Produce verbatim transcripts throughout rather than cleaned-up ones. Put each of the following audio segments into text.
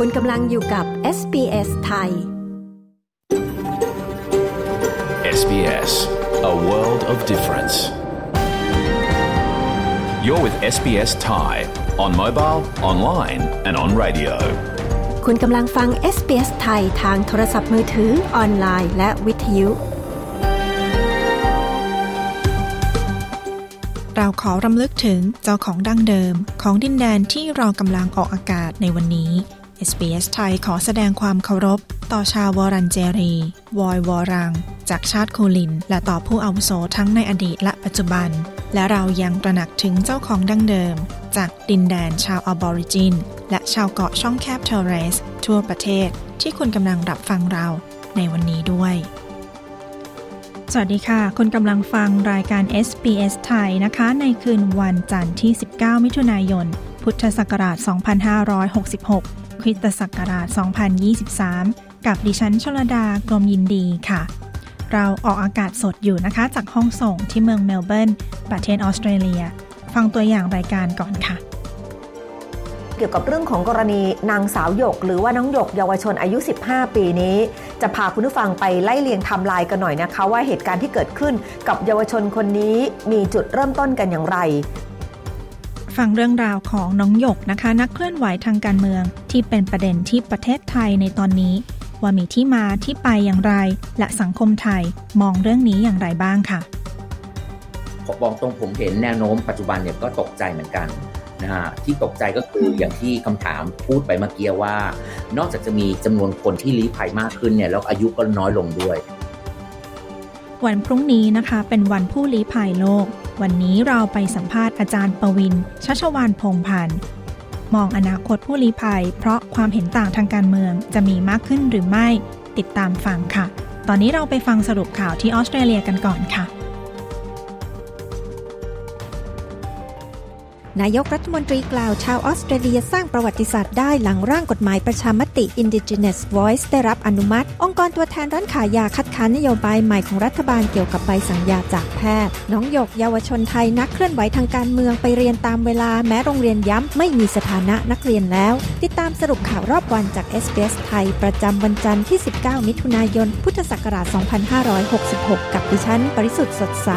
คุณกำลังอยู่กับ เอส บี เอส ไทยเอส บี เอส, a world of difference. You're with เอส บี เอส Thai on mobile, online and on radio. คุณกำลังฟัง เอส บี เอส ไทยทางโทรศัพท์มือถือออนไลน์และวิทยุเราขอรำลึกถึงเจ้าของดั้งเดิมของดินแดนที่เรากำลังออกอากาศในวันนี้ เอส บี เอส ไทยขอแสดงความเคารพต่อชาววอรันเจรีวอยวอรังจากชาติคูลินและต่อผู้อาวุโสทั้งในอดีตและปัจจุบันและเรายังตระหนักถึงเจ้าของดั้งเดิมจากดินแดนชาวออบอริจินและชาวเกาะช่องแคบเทอร์เรสทั่วประเทศที่คุณกำลังรับฟังเราในวันนี้ด้วยสวัสดีค่ะคุณกำลังฟังรายการ เอส บี เอส ไทยนะคะในคืนวันจันทร์ที่สิบเก้ามิถุนายนพุทธศักราชสองพันห้าร้อยหกสิบหกคริสตศักราชสองพันยี่สิบสามกับดิฉันชลดากรมยินดีค่ะเราออกอากาศสดอยู่นะคะจากห้องส่งที่เมืองเมลเบิร์นประเทศออสเตรเลียฟังตัวอย่างรายการก่อนค่ะเกี่ยวกับเรื่องของกรณีนางสาวหยกหรือว่าน้องหยกเยาวชนอายุสิบห้าปีนี้จะพาคุณผู้ฟังไปไล่เลียงไทม์ไลน์กันหน่อยนะคะว่าเหตุการณ์ที่เกิดขึ้นกับเยาวชนคนนี้มีจุดเริ่มต้นกันอย่างไรฟังเรื่องราวของน้องหยกนะคะนักเคลื่อนไหวทางการเมืองที่เป็นประเด็นที่ประเทศไทยในตอนนี้ว่ามีที่มาที่ไปอย่างไรและสังคมไทยมองเรื่องนี้อย่างไรบ้างค่ะผมบอกตรงผมเห็นแนวโน้มปัจจุบันเนี่ยก็ตกใจเหมือนกันนะฮะที่ตกใจก็คืออย่างที่คำถามพูดไปเมื่อกี้ว่านอกจากจะมีจำนวนคนที่ลี้ภัยมากขึ้นเนี่ยแล้วอายุก็น้อยลงด้วยวันพรุ่งนี้นะคะเป็นวันผู้ลี้ภัยโลกวันนี้เราไปสัมภาษณ์อาจารย์ปวินชัชวาลพงษ์พันธ์มองอนาคตผู้ลี้ภัยเพราะความเห็นต่างทางการเมืองจะมีมากขึ้นหรือไม่ติดตามฟังค่ะตอนนี้เราไปฟังสรุปข่าวที่ออสเตรเลียกันก่อนค่ะนายกรัฐมนตรีกล่าวชาวออสเตรเลียสร้างประวัติศาสตร์ได้หลังร่างกฎหมายประชามติ Indigenous Voice ได้รับอนุมัติองค์กรตัวแทนร้านขายยาคัดค้านนโยบายใหม่ของรัฐบาลเกี่ยวกับใบสั่งยาจากแพทย์น้องหยกเยาวชนไทยนักเคลื่อนไหวทางการเมืองไปเรียนตามเวลาแม้โรงเรียนย้ำไม่มีสถานะนักเรียนแล้วติดตามสรุปข่าวรอบวันจาก เอส บี เอส ไทยประจำวันจันทร์ที่สิบเก้ามิถุนายนพุทธศักราชสองพันห้าร้อยหกสิบหกกับดิฉันปริสุทธิ์สดใส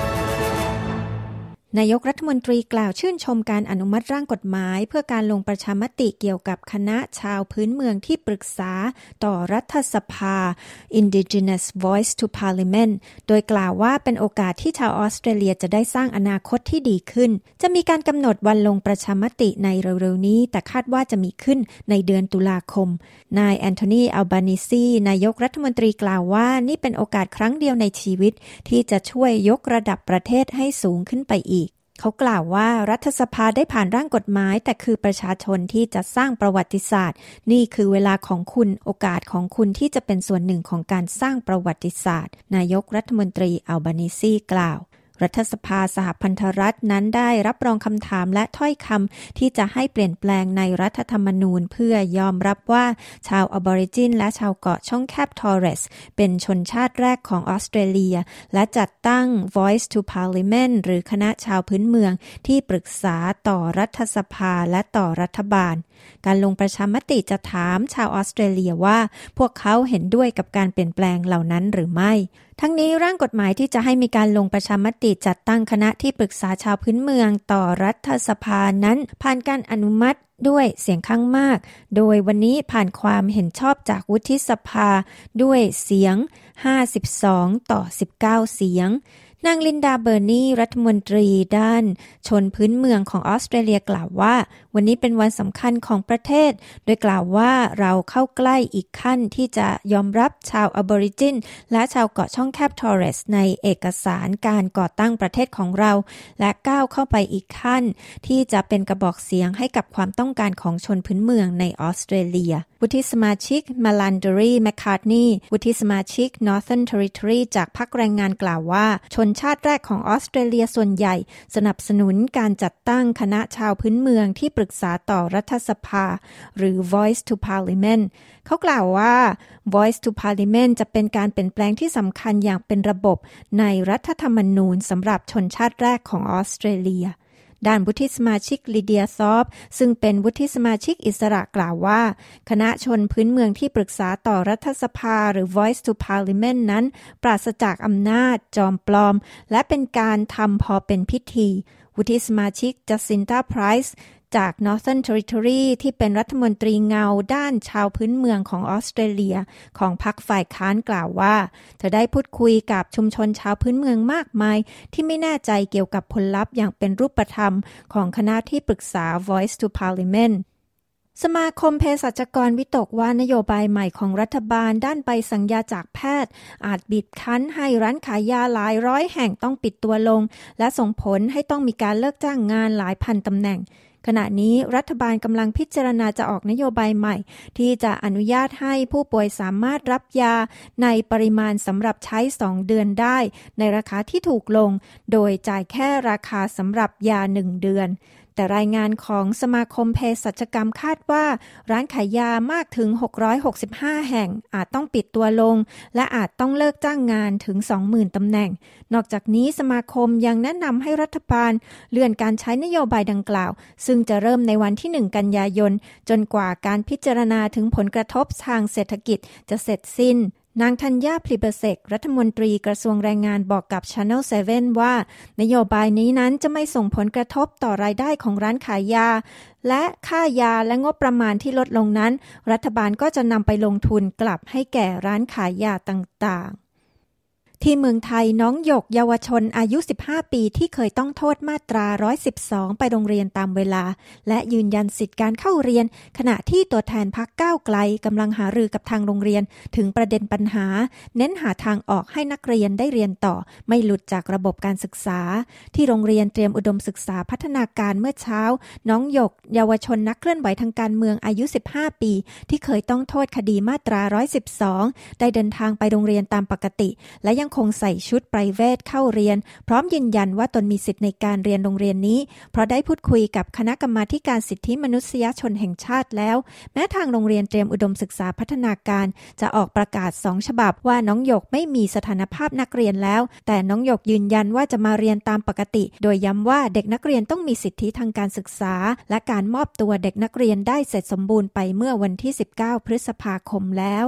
นายกรัฐมนตรีกล่าวชื่นชมการอนุมัติร่างกฎหมายเพื่อการลงประชามติเกี่ยวกับคณะชาวพื้นเมืองที่ปรึกษาต่อรัฐสภา Indigenous Voice to Parliament โดยกล่าวว่าเป็นโอกาสที่ชาวออสเตรเลียจะได้สร้างอนาคตที่ดีขึ้นจะมีการกำหนดวันลงประชามติในเร็วๆนี้แต่คาดว่าจะมีขึ้นในเดือนตุลาคมนายแอนโทนีอัลบานิซีนายกรัฐมนตรีกล่าวว่านี่เป็นโอกาสครั้งเดียวในชีวิตที่จะช่วยยกระดับประเทศให้สูงขึ้นไปอีกเขากล่าวว่ารัฐสภาได้ผ่านร่างกฎหมายแต่คือประชาชนที่จะสร้างประวัติศาสตร์นี่คือเวลาของคุณโอกาสของคุณที่จะเป็นส่วนหนึ่งของการสร้างประวัติศาสตร์นายกรัฐมนตรีอัลบานิซีกล่าวรัฐสภาสหพันธรัฐนั้นได้รับรองคำถามและถ้อยคำที่จะให้เปลี่ยนแปลงในรัฐธรรมนูญเพื่อยอมรับว่าชาวออบอริจินและชาวเกาะช่องแคบทอร์เรสเป็นชนชาติแรกของออสเตรเลียและจัดตั้ง Voice to Parliament หรือคณะชาวพื้นเมืองที่ปรึกษาต่อรัฐสภาและต่อรัฐบาลการลงประชามติจะถามชาวออสเตรเลียว่าพวกเขาเห็นด้วยกับการเปลี่ยนแปลงเหล่านั้นหรือไม่ทั้งนี้ร่างกฎหมายที่จะให้มีการลงประชามติจัดตั้งคณะที่ปรึกษาชาวพื้นเมืองต่อรัฐสภานั้นผ่านการอนุมัติด้วยเสียงข้างมากโดยวันนี้ผ่านความเห็นชอบจากวุฒิสภาด้วยเสียงห้าสิบสองต่อสิบเก้าเสียงนางลินดาเบอร์นีรัฐมนตรีด้านชนพื้นเมืองของออสเตรเลียกล่าวว่าวันนี้เป็นวันสำคัญของประเทศโดยกล่าวว่าเราเข้าใกล้อีกขั้นที่จะยอมรับชาวอบอริจินและชาวเกาะช่องแคบทอร์เรสในเอกสารการก่อตั้งประเทศของเราและก้าวเข้าไปอีกขั้นที่จะเป็นกระบอกเสียงให้กับความต้องการของชนพื้นเมืองในออสเตรเลียวุฒิสมาชิกมาลันเดอรีแมคคาร์ทนีย์วุฒิสมาชิก Northern Territory จากพรรคแรงงานกล่าวว่าชนชาติแรกของออสเตรเลียส่วนใหญ่สนับสนุนการจัดตั้งคณะชาวพื้นเมืองที่ปรึกษาต่อรัฐสภาหรือ Voice to Parliament เขากล่าวว่า Voice to Parliament จะเป็นการเปลี่ยนแปลงที่สำคัญอย่างเป็นระบบในรัฐธรรมนูญสำหรับชนชาติแรกของออสเตรเลียด้านวุฒิสมาชิกลิเดียซอฟซึ่งเป็นวุฒิสมาชิกอิสระกล่าวว่าคณะชนพื้นเมืองที่ปรึกษาต่อรัฐสภาหรือ Voice to Parliament นั้นปราศจากอำนาจจอมปลอมและเป็นการทำพอเป็นพิธีวุฒิสมาชิกจัสซินตาไพรส์จาก Northern Territory ที่เป็นรัฐมนตรีเงาด้านชาวพื้นเมืองของออสเตรเลียของพรรคฝ่ายค้านกล่าวว่าเธอได้พูดคุยกับชุมชนชาวพื้นเมืองมากมายที่ไม่แน่ใจเกี่ยวกับผลลัพธ์อย่างเป็นรูปธรรมของคณะที่ปรึกษา Voice to Parliament สมาคมเภสัชกรวิตกว่านโยบายใหม่ของรัฐบาลด้านใบสั่งยาจากแพทย์อาจบีบคั้นให้ร้านขายยาหลายร้อยแห่งต้องปิดตัวลงและส่งผลให้ต้องมีการเลิกจ้างงานหลายพันตำแหน่งขณะนี้รัฐบาลกำลังพิจารณาจะออกนโยบายใหม่ที่จะอนุญาตให้ผู้ป่วยสามารถรับยาในปริมาณสำหรับใช้สองเดือนได้ในราคาที่ถูกลงโดยจ่ายแค่ราคาสำหรับยาหนึ่งเดือนแต่รายงานของสมาคมเภสัชกรรมคาดว่าร้านขายยามากถึงหกร้อยหกสิบห้าแห่งอาจต้องปิดตัวลงและอาจต้องเลิกจ้างงานถึง สองหมื่น ตำแหน่งนอกจากนี้สมาคมยังแนะนำให้รัฐบาลเลื่อนการใช้นโยบายดังกล่าวซึ่งจะเริ่มในวันที่หนึ่งกันยายนจนกว่าการพิจารณาถึงผลกระทบทางเศรษฐกิจจะเสร็จสิ้นนางธัญญา พลีเบเซกรัฐมนตรีกระทรวงแรงงานบอกกับ Channel เซเว่น ว่านโยบายนี้นั้นจะไม่ส่งผลกระทบต่อรายได้ของร้านขายยาและค่ายาและงบประมาณที่ลดลงนั้นรัฐบาลก็จะนำไปลงทุนกลับให้แก่ร้านขายยาต่างๆที่เมืองไทยน้องหยกเยาวชนอายุสิบห้าปีที่เคยต้องโทษมาตราหนึ่งร้อยสิบสองไปโรงเรียนตามเวลาและยืนยันสิทธิการเข้าเรียนขณะที่ตัวแทนพรรคก้าวไกลกำลังหารือกับทางโรงเรียนถึงประเด็นปัญหาเน้นหาทางออกให้นักเรียนได้เรียนต่อไม่หลุดจากระบบการศึกษาที่โรงเรียนเตรียมอุดมศึกษาพัฒนาการเมื่อเช้าน้องหยกเยาวชนนักเคลื่อนไหวทางการเมืองอายุสิบห้าปีที่เคยต้องโทษคดีมาตราหนึ่งร้อยสิบสองได้เดินทางไปโรงเรียนตามปกติและยังคงใส่ชุดไพรเวทเข้าเรียนพร้อมยืนยันว่าตนมีสิทธิ์ในการเรียนโรงเรียนนี้เพราะได้พูดคุยกับคณะกรรมาธิการสิทธิมนุษยชนแห่งชาติแล้วแม้ทางโรงเรียนเตรียมอุดมศึกษาพัฒนาการจะออกประกาศสองฉบับว่าน้องหยกไม่มีสถานภาพนักเรียนแล้วแต่น้องหยกยืนยันว่าจะมาเรียนตามปกติโดยย้ำว่าเด็กนักเรียนต้องมีสิทธิทางการศึกษาและการมอบตัวเด็กนักเรียนได้เสร็จสมบูรณ์ไปเมื่อวันที่สิบเก้าพฤษภาคมแล้ว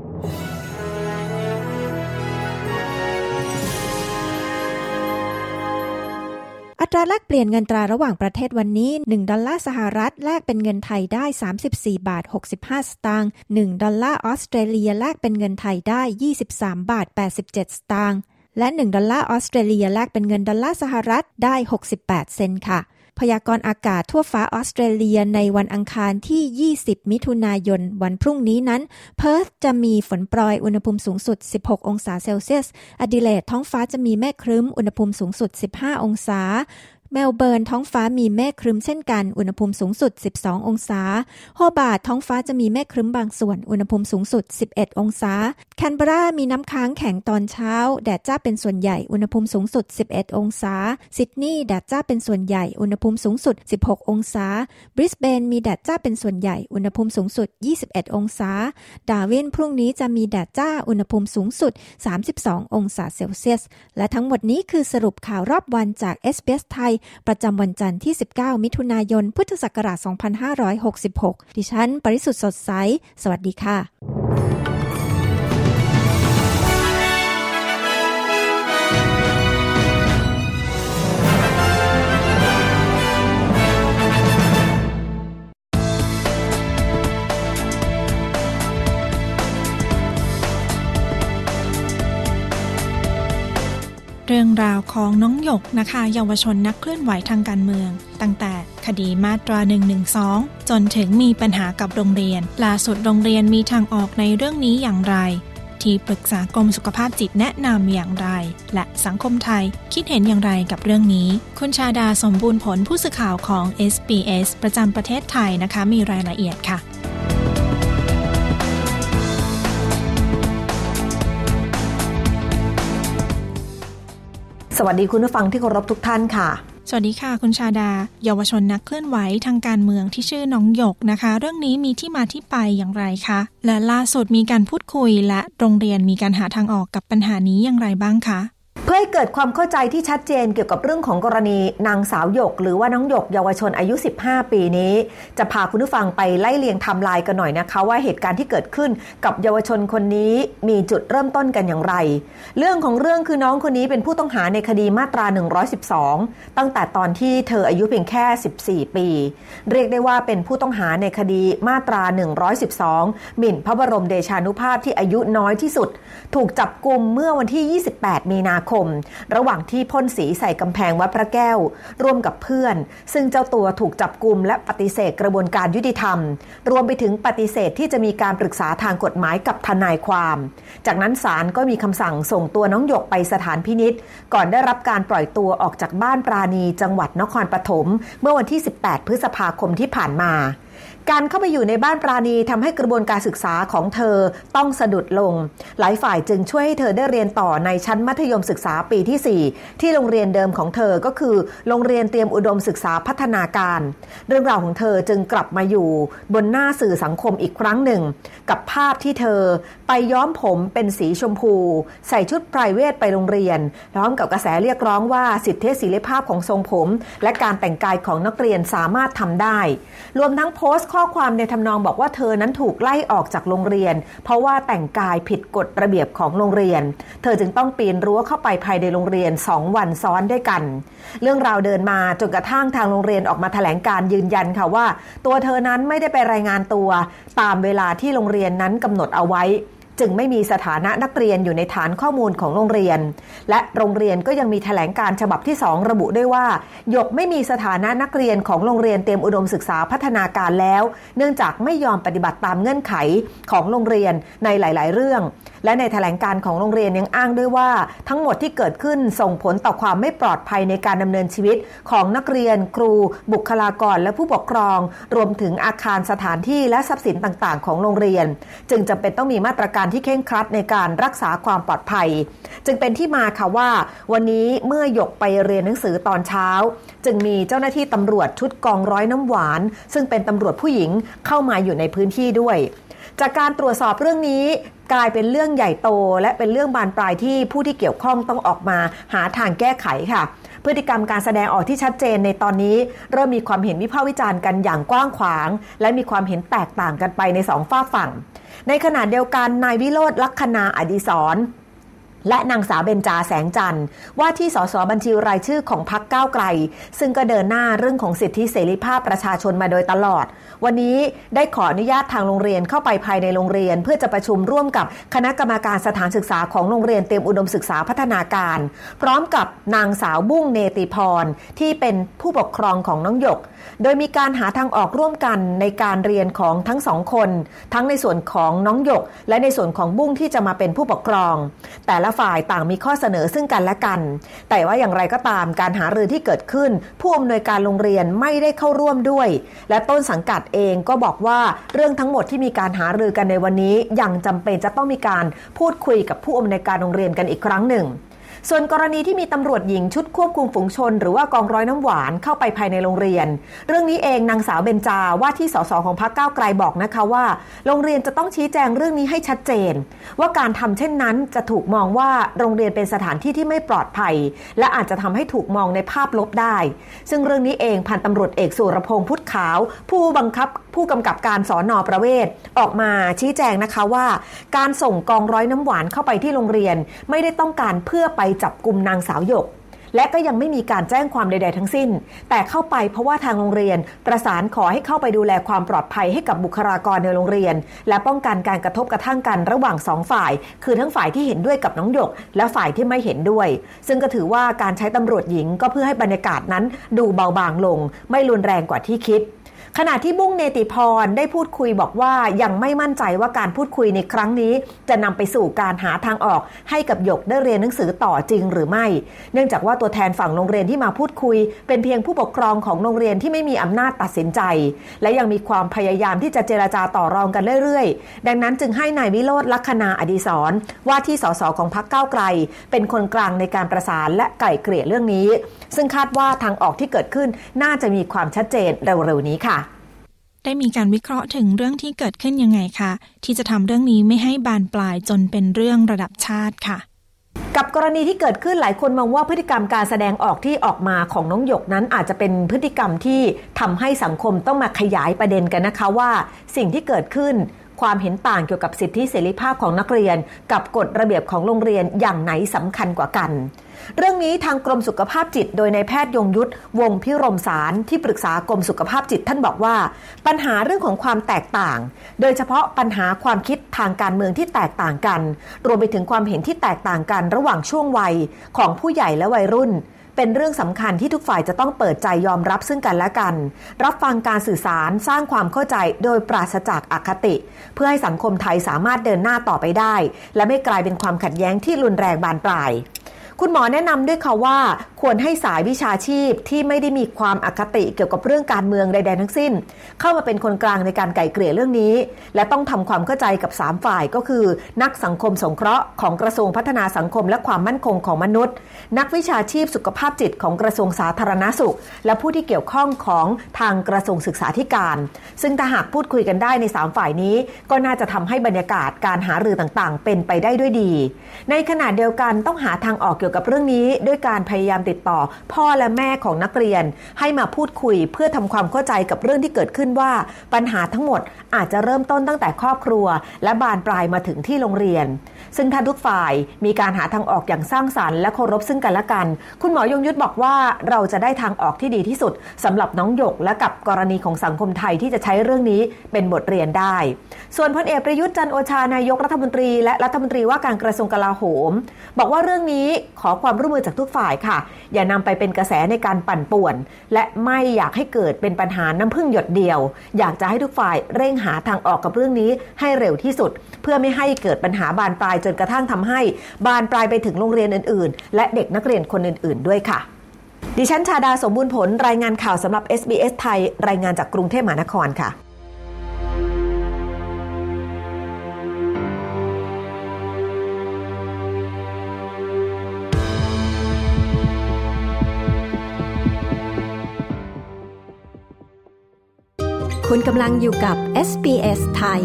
อัตราแลกเปลี่ยนเงินตราระหว่างประเทศวันนี้หนึ่งดอลลาร์สหรัฐแลกเป็นเงินไทยได้สามสิบสี่บาทหกสิบห้าสตางค์หนึ่งดอลลาร์ออสเตรเลียแลกเป็นเงินไทยได้ยี่สิบสามบาทแปดสิบเจ็ดสตางค์และหนึ่งดอลลาร์ออสเตรเลียแลกเป็นเงินดอลลาร์สหรัฐได้หกสิบแปดเซนต์ค่ะพยากรณ์อากาศทั่วฟ้าออสเตรเลียในวันอังคารที่ยี่สิบมิถุนายนวันพรุ่งนี้นั้นเพิร์ธจะมีฝนโปรยอุณหภูมิสูงสุดสิบหกองศาเซลเซียสอดิเลดท้องฟ้าจะมีเมฆครึ้มอุณหภูมิสูงสุดสิบห้าองศาเมลเบิร์นท้องฟ้ามีเมฆครึ้มเช่นกันอุณหภูมิสูงสุดสิบสององศาโฮบาร์ตท้องฟ้าจะมีเมฆครึ้มบางส่วนอุณหภูมิสูงสุดสิบเอ็ดองศาแคนเบรามีน้ำค้างแข็งตอนเช้าแดดจ้าเป็นส่วนใหญ่อุณหภูมิสูงสุดสิบเอ็ดองศาซิดนีย์แดดจ้าเป็นส่วนใหญ่อุณหภูมิสูงสุดสิบหกองศาบริสเบนมีแดดจ้าเป็นส่วนใหญ่อุณหภูมิสูงสุดยี่สิบเอ็ดองศาดาร์วินพรุ่งนี้จะมีแดดจ้าอุณหภูมิสูงสุดสามสิบสององศาเซลเซียสและทั้งหมดนี้คือสรุปข่าวรอบวันจาก เอส บี เอส ไทยประจำวันจันทร์ที่สิบเก้ามิถุนายนพุทธศักราชสองพันห้าร้อยหกสิบหกดิฉันปริสุทธิ์สดใสสวัสดีค่ะเรื่องราวของน้องหยกนะคะเยาวชนนักเคลื่อนไหวทางการเมืองตั้งแต่คดีมาตราหนึ่งหนึ่งสองจนถึงมีปัญหากับโรงเรียนล่าสุดโรงเรียนมีทางออกในเรื่องนี้อย่างไรที่ปรึกษากรมสุขภาพจิตแนะนำอย่างไรและสังคมไทยคิดเห็นอย่างไรกับเรื่องนี้คุณชาดาสมบูรณ์ผลผู้สื่อข่าวของ เอส บี เอส ประจำประเทศไทยนะคะมีรายละเอียดค่ะสวัสดีคุณผู้ฟังที่เคารพทุกท่านค่ะสวัสดีค่ะคุณชาดาเยาวชนนักเคลื่อนไหวทางการเมืองที่ชื่อน้องหยกนะคะเรื่องนี้มีที่มาที่ไปอย่างไรคะและล่าสุดมีการพูดคุยและโรงเรียนมีการหาทางออกกับปัญหานี้อย่างไรบ้างคะเพื่อให้เกิดความเข้าใจที่ชัดเจนเกี่ยวกับเรื่องของกรณีนางสาวหยกหรือว่าน้องหยกเยาวชนอายุสิบห้าปีนี้จะพาคุณผู้ฟังไปไล่เลียงไทม์ไลน์กันหน่อยนะคะว่าเหตุการณ์ที่เกิดขึ้นกับเยาวชนคนนี้มีจุดเริ่มต้นกันอย่างไรเรื่องของเรื่องคือน้องคนนี้เป็นผู้ต้องหาในคดีมาตราหนึ่งร้อยสิบสองตั้งแต่ตอนที่เธออายุเพียงแค่สิบสี่ปีเรียกได้ว่าเป็นผู้ต้องหาในคดีมาตราหนึ่งร้อยสิบสองหมิ่นพระบรมเดชานุภาพที่อายุน้อยที่สุดถูกจับกุมเมื่อวันที่ยี่สิบแปดมีนาคมระหว่างที่พ่นสีใส่กำแพงวัดพระแก้วร่วมกับเพื่อนซึ่งเจ้าตัวถูกจับกุมและปฏิเสธกระบวนการยุติธรรมรวมไปถึงปฏิเสธที่จะมีการปรึกษาทางกฎหมายกับทนายความจากนั้นศาลก็มีคำสั่งส่งตัวน้องหยกไปสถานพินิจก่อนได้รับการปล่อยตัวออกจากบ้านปราณีจังหวัดนครปฐมเมื่อวันที่สิบแปดพฤษภาคมที่ผ่านมาการเข้าไปอยู่ในบ้านปราณีทำให้กระบวนการศึกษาของเธอต้องสะดุดลงหลายฝ่ายจึงช่วยให้เธอได้เรียนต่อในชั้นมัธยมศึกษาปีที่สี่ที่โรงเรียนเดิมของเธอก็คือโรงเรียนเตรียมอุดมศึกษาพัฒนาการเรื่องราวของเธอจึงกลับมาอยู่บนหน้าสื่อสังคมอีกครั้งหนึ่งกับภาพที่เธอไปย้อมผมเป็นสีชมพูใส่ชุดไพรเวทไปโรงเรียนพร้อมกับกระแสเรียกร้องว่าสิทธิเสรีภาพของทรงผมและการแต่งกายของนักเรียนสามารถทำได้รวมทั้งโพสต์ข้อความในทำนองบอกว่าเธอนั้นถูกไล่ออกจากโรงเรียนเพราะว่าแต่งกายผิดกฎระเบียบของโรงเรียนเธอจึงต้องปีนรั้วเข้าไปภายในโรงเรียนสองวันซ้อนด้วยกันเรื่องราวเดินมาจนกระทั่งทางโรงเรียนออกมาแถลงการยืนยันค่ะว่าตัวเธอนั้นไม่ได้ไปรายงานตัวตามเวลาที่โรงเรียนนั้นกำหนดเอาไว้จึงไม่มีสถานะนักเรียนอยู่ในฐานข้อมูลของโรงเรียนและโรงเรียนก็ยังมีแถลงการฉบับที่สองระบุด้วยว่าหยกไม่มีสถานะนักเรียนของโรงเรียนเตรียมอุดมศึกษาพัฒนาการแล้วเนื่องจากไม่ยอมปฏิบัติตามเงื่อนไขของโรงเรียนในหลายๆเรื่องและในแถลงการของโรงเรียนยังอ้างด้วยว่าทั้งหมดที่เกิดขึ้นส่งผลต่อความไม่ปลอดภัยในการดำเนินชีวิตของนักเรียนครูบุคลากรและผู้ปกครองรวมถึงอาคารสถานที่และทรัพย์สินต่างๆของโรงเรียนจึงจำเป็นต้องมีมาตรการที่เคร่งครัดในการรักษาความปลอดภัยจึงเป็นที่มาค่ะว่าวันนี้เมื่อหยกไปเรียนหนังสือตอนเช้าจึงมีเจ้าหน้าที่ตำรวจชุดกองร้อยน้ำหวานซึ่งเป็นตำรวจผู้หญิงเข้ามาอยู่ในพื้นที่ด้วยจากการตรวจสอบเรื่องนี้กลายเป็นเรื่องใหญ่โตและเป็นเรื่องบานปลายที่ผู้ที่เกี่ยวข้องต้องออกมาหาทางแก้ไขค่ะพฤติกรรมการแสดงออกที่ชัดเจนในตอนนี้เริ่มมีความเห็นวิพากษ์วิจารณ์กันอย่างกว้างขวางและมีความเห็นแตกต่างกันไปในสองฝากฝั่งในขณะเดียวกันนายวิโรจน์ลัคนาอดิศรและนางสาวเบญจาแสงจันทร์ว่าที่สสบัญชีรายชื่อของพรรคก้าวไกลซึ่งก็เดินหน้าเรื่องของสิทธิเสรีภาพประชาชนมาโดยตลอดวันนี้ได้ขออนุญาตทางโรงเรียนเข้าไปภายในโรงเรียนเพื่อจะประชุมร่วมกับคณะกรรมการสถานศึกษาของโรงเรียนเตรียมอุดมศึกษาพัฒนาการพร้อมกับนางสาวบุ้งเนติพรที่เป็นผู้ปกครองของน้องหยกโดยมีการหาทางออกร่วมกันในการเรียนของทั้งสองคนทั้งในส่วนของน้องหยกและในส่วนของบุ้งที่จะมาเป็นผู้ปกครองแต่ละฝ่ายต่างมีข้อเสนอซึ่งกันและกันแต่ว่าอย่างไรก็ตามการหารือที่เกิดขึ้นผู้อำนวยการโรงเรียนไม่ได้เข้าร่วมด้วยและต้นสังกัดเองก็บอกว่าเรื่องทั้งหมดที่มีการหารือกันในวันนี้ยังจำเป็นจะต้องมีการพูดคุยกับผู้อำนวยการโรงเรียนกันอีกครั้งหนึ่งส่วนกรณีที่มีตำรวจหญิงชุดควบคุมฝูงชนหรือว่ากองร้อยน้ำหวานเข้าไปภายในโรงเรียนเรื่องนี้เองนางสาวเบญจาว่าที่สสของพรรคก้าวไกลบอกนะคะว่าโรงเรียนจะต้องชี้แจงเรื่องนี้ให้ชัดเจนว่าการทำเช่นนั้นจะถูกมองว่าโรงเรียนเป็นสถานที่ที่ไม่ปลอดภัยและอาจจะทำให้ถูกมองในภาพลบได้ซึ่งเรื่องนี้เองพันตำรวจเอกสุรพงษ์พุทธขาวผู้บังคับผู้กำกับการสน.ประเวศออกมาชี้แจงนะคะว่าการส่งกองร้อยน้ำหวานเข้าไปที่โรงเรียนไม่ได้ต้องการเพื่อไปจับกุมนางสาวหยกและก็ยังไม่มีการแจ้งความใดๆทั้งสิ้นแต่เข้าไปเพราะว่าทางโรงเรียนประสานขอให้เข้าไปดูแลความปลอดภัยให้กับบุคลากรในโรงเรียนและป้องกันการกระทบกระทั่งกันระหว่างสองฝ่ายคือทั้งฝ่ายที่เห็นด้วยกับน้องหยกและฝ่ายที่ไม่เห็นด้วยซึ่งก็ถือว่าการใช้ตำรวจหญิงก็เพื่อให้บรรยากาศนั้นดูเบาบางลงไม่รุนแรงกว่าที่คิดขณะที่บุ้งเนติพรได้พูดคุยบอกว่ายังไม่มั่นใจว่าการพูดคุยในครั้งนี้จะนำไปสู่การหาทางออกให้กับหยกได้เรียนหนังสือต่อจริงหรือไม่เนื่องจากว่าตัวแทนฝั่งโรงเรียนที่มาพูดคุยเป็นเพียงผู้ปกครองของโรงเรียนที่ไม่มีอำนาจตัดสินใจและยังมีความพยายามที่จะเจรจาต่อรองกันเรื่อยๆดังนั้นจึงให้นายวิโรจน์ลัคนาอดิศรว่าที่สสของพรรคก้าวไกลเป็นคนกลางในการประสานและไกล่เกลี่ยเรื่องนี้ซึ่งคาดว่าทางออกที่เกิดขึ้นน่าจะมีความชัดเจนเร็วๆนี้ค่ะได้มีการวิเคราะห์ถึงเรื่องที่เกิดขึ้นยังไงคะที่จะทำเรื่องนี้ไม่ให้บานปลายจนเป็นเรื่องระดับชาติค่ะกับกรณีที่เกิดขึ้นหลายคนมองว่าพฤติกรรมการแสดงออกที่ออกมาของน้องหยกนั้นอาจจะเป็นพฤติกรรมที่ทำให้สังคมต้องมาขยายประเด็นกันนะคะว่าสิ่งที่เกิดขึ้นความเห็นต่างเกี่ยวกับสิทธิเสรีภาพของนักเรียนกับกฎระเบียบของโรงเรียนอย่างไหนสำคัญกว่ากันเรื่องนี้ทางกรมสุขภาพจิตโดยนายแพทย์ยงยุทธวงศ์พิรมสารที่ปรึกษากรมสุขภาพจิตท่านบอกว่าปัญหาเรื่องของความแตกต่างโดยเฉพาะปัญหาความคิดทางการเมืองที่แตกต่างกันรวมไปถึงความเห็นที่แตกต่างกันระหว่างช่วงวัยของผู้ใหญ่และวัยรุ่นเป็นเรื่องสำคัญที่ทุกฝ่ายจะต้องเปิดใจยอมรับซึ่งกันและกันรับฟังการสื่อสารสร้างความเข้าใจโดยปราศจากอคติเพื่อให้สังคมไทยสามารถเดินหน้าต่อไปได้และไม่กลายเป็นความขัดแย้งที่รุนแรงบานปลายคุณหมอแนะนำด้วยค่ะว่าควรให้สายวิชาชีพที่ไม่ได้มีความอคติเกี่ยวกับเรื่องการเมืองใดๆทั้งสิ้นเข้ามาเป็นคนกลางในการไกล่เกลี่ยเรื่องนี้และต้องทำความเข้าใจกับสามฝ่ายก็คือนักสังคมสงเคราะห์ของกระทรวงพัฒนาสังคมและความมั่นคงของมนุษย์นักวิชาชีพสุขภาพจิตของกระทรวงสาธารณสุขและผู้ที่เกี่ยวข้องของทางกระทรวงศึกษาธิการซึ่งถ้าหากพูดคุยกันได้ในสามฝ่ายนี้ก็น่าจะทำให้บรรยากาศการหารือต่างๆเป็นไปได้ด้วยดีในขณะเดียวกันต้องหาทางออกเกี่ยวกับเรื่องนี้ด้วยการพยายามติดต่อพ่อและแม่ของนักเรียนให้มาพูดคุยเพื่อทำความเข้าใจกับเรื่องที่เกิดขึ้นว่าปัญหาทั้งหมดอาจจะเริ่มต้นตั้งแต่ครอบครัวและบานปลายมาถึงที่โรงเรียนซึ่งถ้าทุกฝ่ายมีการหาทางออกอย่างสร้างสรรค์และเคารพซึ่งกันและกันคุณหมอยงยุทธบอกว่าเราจะได้ทางออกที่ดีที่สุดสำหรับน้องหยกและกับกรณีของสังคมไทยที่จะใช้เรื่องนี้เป็นบทเรียนได้ส่วนพลเอกประยุทธ์จันทร์โอชานายกรัฐมนตรีและรัฐมนตรีว่าการกระทรวงกลาโหมบอกว่าเรื่องนี้ขอความร่วมมือจากทุกฝ่ายค่ะอย่านำไปเป็นกระแสในการปั่นป่วนและไม่อยากให้เกิดเป็นปัญหาน้ำพึ่งหยดเดียวอยากจะให้ทุกฝ่ายเร่งหาทางออกกับเรื่องนี้ให้เร็วที่สุดเพื่อไม่ให้เกิดปัญหาบานปลายจนกระทั่งทำให้บานปลายไปถึงโรงเรียนอื่นๆและเด็กนักเรียนคนอื่นๆด้วยค่ะดิฉันชาดาสมบูรณ์ผลรายงานข่าวสำหรับ เอส บี เอส ไทยรายงานจากกรุงเทพมหานครค่ะคุณกำลังอยู่กับ เอส บี เอส ไทย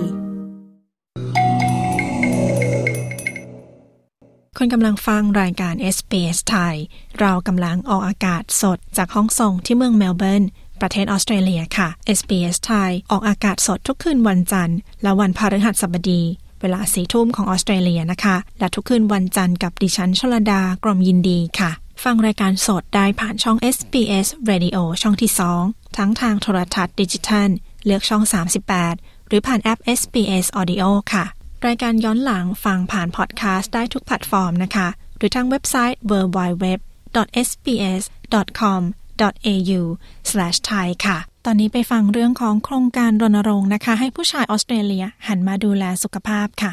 คุณกำลังฟังรายการ เอส บี เอส ไทยเรากำลังออกอากาศสดจากห้องส่งที่เมืองเมลเบิร์นประเทศออสเตรเลียค่ะ เอส บี เอส ไทยออกอากาศสดทุกคืนวันจันทร์และวันพฤหัสบดีเวลาสี่ทุ่มของออสเตรเลียนะคะและทุกคืนวันจันทร์กับดิฉันชลดากรมยินดีค่ะฟังรายการสดได้ผ่านช่อง เอส บี เอส Radio ช่องที่สองทั้งทางโทรทัศน์ดิจิทัลเลือกช่องสามสิบแปดหรือผ่านแอป เอส บี เอส Audio ค่ะรายการย้อนหลังฟังผ่านพอดแคสต์ได้ทุกแพลตฟอร์มนะคะหรือทางเว็บไซต์ ดับเบิลยู ดับเบิลยู ดับเบิลยู ดอท เอส บี เอส ดอท คอม ดอท เอ ยู สแลช ไทย ค่ะตอนนี้ไปฟังเรื่องของโครงการรณรงค์นะคะให้ผู้ชายออสเตรเลียหันมาดูแลสุขภาพค่ะ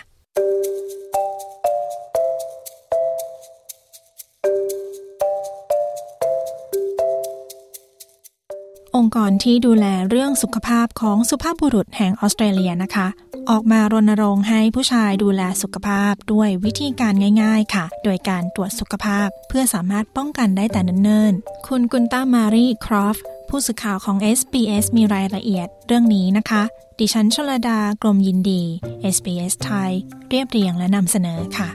องค์กรที่ดูแลเรื่องสุขภาพของสุภาพบุรุษแห่งออสเตรเลียนะคะออกมารณรงค์ให้ผู้ชายดูแลสุขภาพด้วยวิธีการง่ายๆค่ะโดยการตรวจสุขภาพเพื่อสามารถป้องกันได้แต่เนิ่นๆคุณกุนต้ามารีครอฟผู้สื่อข่าวของ เอส บี เอส มีรายละเอียดเรื่องนี้นะคะดิฉันชลดากรมยินดี เอส บี เอส ไทยเรียบเรียงและนำเสนอค่ะ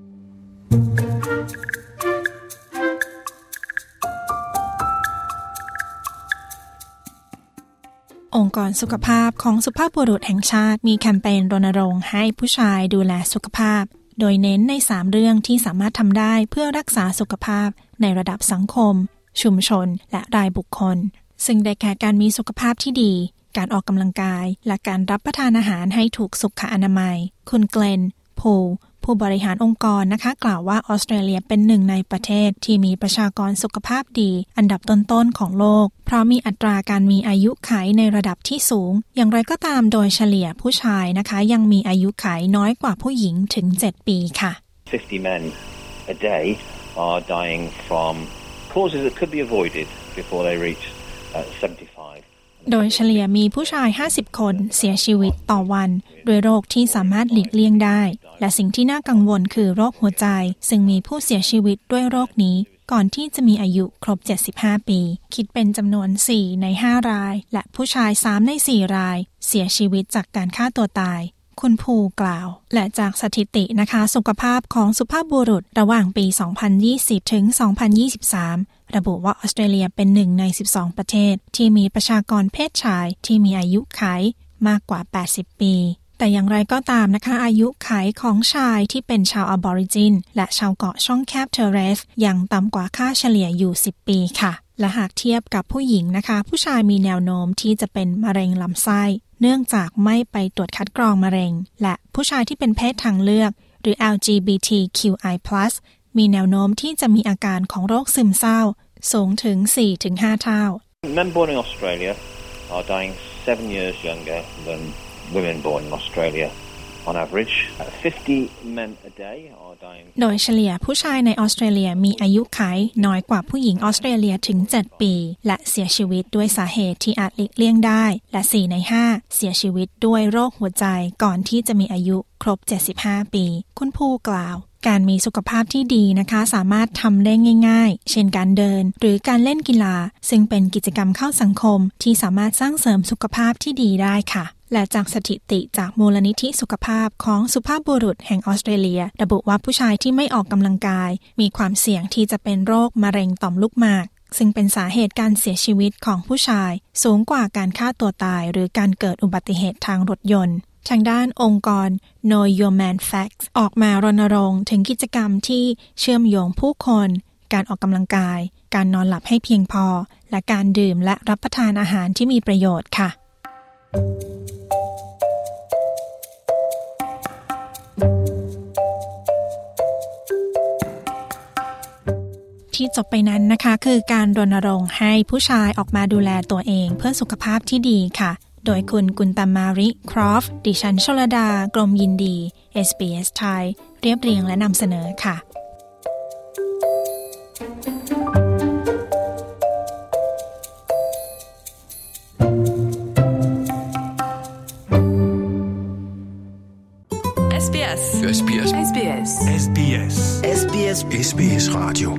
องค์กรสุขภาพของสุภาพบุรุษแห่งชาติมีแคมเปญรณรงค์ให้ผู้ชายดูแลสุขภาพโดยเน้นในสามเรื่องที่สามารถทำได้เพื่อรักษาสุขภาพในระดับสังคมชุมชนและรายบุคคลซึ่งได้แก่การมีสุขภาพที่ดีการออกกำลังกายและการรับประทานอาหารให้ถูกสุขอนามัยคุณเกลนพูลผู้บริหารองค์กรนะคะกล่าวว่าออสเตรเลียเป็นหนึ่งในประเทศที่มีประชากรสุขภาพดีอันดับต้นๆของโลกเพราะมีอัตราการมีอายุขัยในระดับที่สูงอย่างไรก็ตามโดยเฉลี่ยผู้ชายนะคะยังมีอายุขัยน้อยกว่าผู้หญิงถึงเจ็ดปีค่ะ fifty men a day are dying from causes that could be avoided before they reach uh, seventy-five โดยเฉลี่ยมีผู้ชายห้าสิบคนเสียชีวิตต่อวันด้วยโรคที่สามารถหลีกเลี่ยงได้และสิ่งที่น่ากังวลคือโรคหัวใจซึ่งมีผู้เสียชีวิตด้วยโรคนี้ก่อนที่จะมีอายุครบเจ็ดสิบห้าปีคิดเป็นจำนวนสี่ในห้ารายและผู้ชายสามในสี่รายเสียชีวิตจากการฆ่าตัวตายคุณภูกล่าวและจากสถิตินะคะสุขภาพของสุภาพบุรุษระหว่างปี สองพันยี่สิบ ถึง สองพันยี่สิบสาม ระบุว่าออสเตรเลียเป็นหนึ่งในสิบสองประเทศที่มีประชากรเพศชายที่มีอายุขัยมากกว่าแปดสิบปีแต่อย่างไรก็ตามนะคะอายุขัยของชายที่เป็นชาวอบอริจินและชาวเกาะช่องแคบเทเรสยังต่ำกว่าค่าเฉลี่ยอยู่สิบปีค่ะและหากเทียบกับผู้หญิงนะคะผู้ชายมีแนวโน้มที่จะเป็นมะเร็งลำไส้เนื่องจากไม่ไปตรวจคัดกรองมะเร็งและผู้ชายที่เป็นเพศทางเลือกหรือ แอล จี บี ที คิว ไอ พลัส มีแนวโน้มที่จะมีอาการของโรคซึมเศร้าสูงถึง สี่ถึงห้า เท่า Men born in Australia are dying seven years younger than women born in Australia. On average, fifty men a day are dying. โดยเฉลี่ยผู้ชายในออสเตรเลียมีอายุขัยน้อยกว่าผู้หญิงออสเตรเลียถึงเจ็ดปีและเสียชีวิตด้วยสาเหตุที่อาจหลีกเลี่ยงได้และสี่ในห้าเสียชีวิตด้วยโรคหัวใจก่อนที่จะมีอายุครบเจ็ดสิบห้าปีคุณภูกล่าวการมีสุขภาพที่ดีนะคะสามารถทำได้ง่ายๆเช่นการเดินหรือการเล่นกีฬาซึ่งเป็นกิจกรรมเข้าสังคมที่สามารถสร้างเสริมสุขภาพที่ดีได้ค่ะและจากสถิติจากมูลนิธิสุขภาพของสุภาพบุรุษแห่งออสเตรเลียระบุว่าผู้ชายที่ไม่ออกกำลังกายมีความเสี่ยงที่จะเป็นโรคมะเร็งต่อมลูกหมากซึ่งเป็นสาเหตุการเสียชีวิตของผู้ชายสูงกว่าการฆ่าตัวตายหรือการเกิดอุบัติเหตุทางรถยนต์ทางด้านองค์กร Know Your Man Facts ออกมารณรงค์ถึงกิจกรรมที่เชื่อมโยงผู้คนการออกกำลังกายการนอนหลับให้เพียงพอและการดื่มและรับประทานอาหารที่มีประโยชน์ค่ะที่จบไปนั้นนะคะคือการรณรงค์ให้ผู้ชายออกมาดูแลตัวเองเพื่อสุขภาพที่ดีค่ะโดยคุณกุนตามาริครอฟดิฉันชลดากรมยินดี เอส บี เอส ไทยเรียบเรียงและนำเสนอค่ะเอส บี เอสเอส บี เอสเอส บี เอสเอส บี เอสเอส บี เอสเอส บี เอส Radio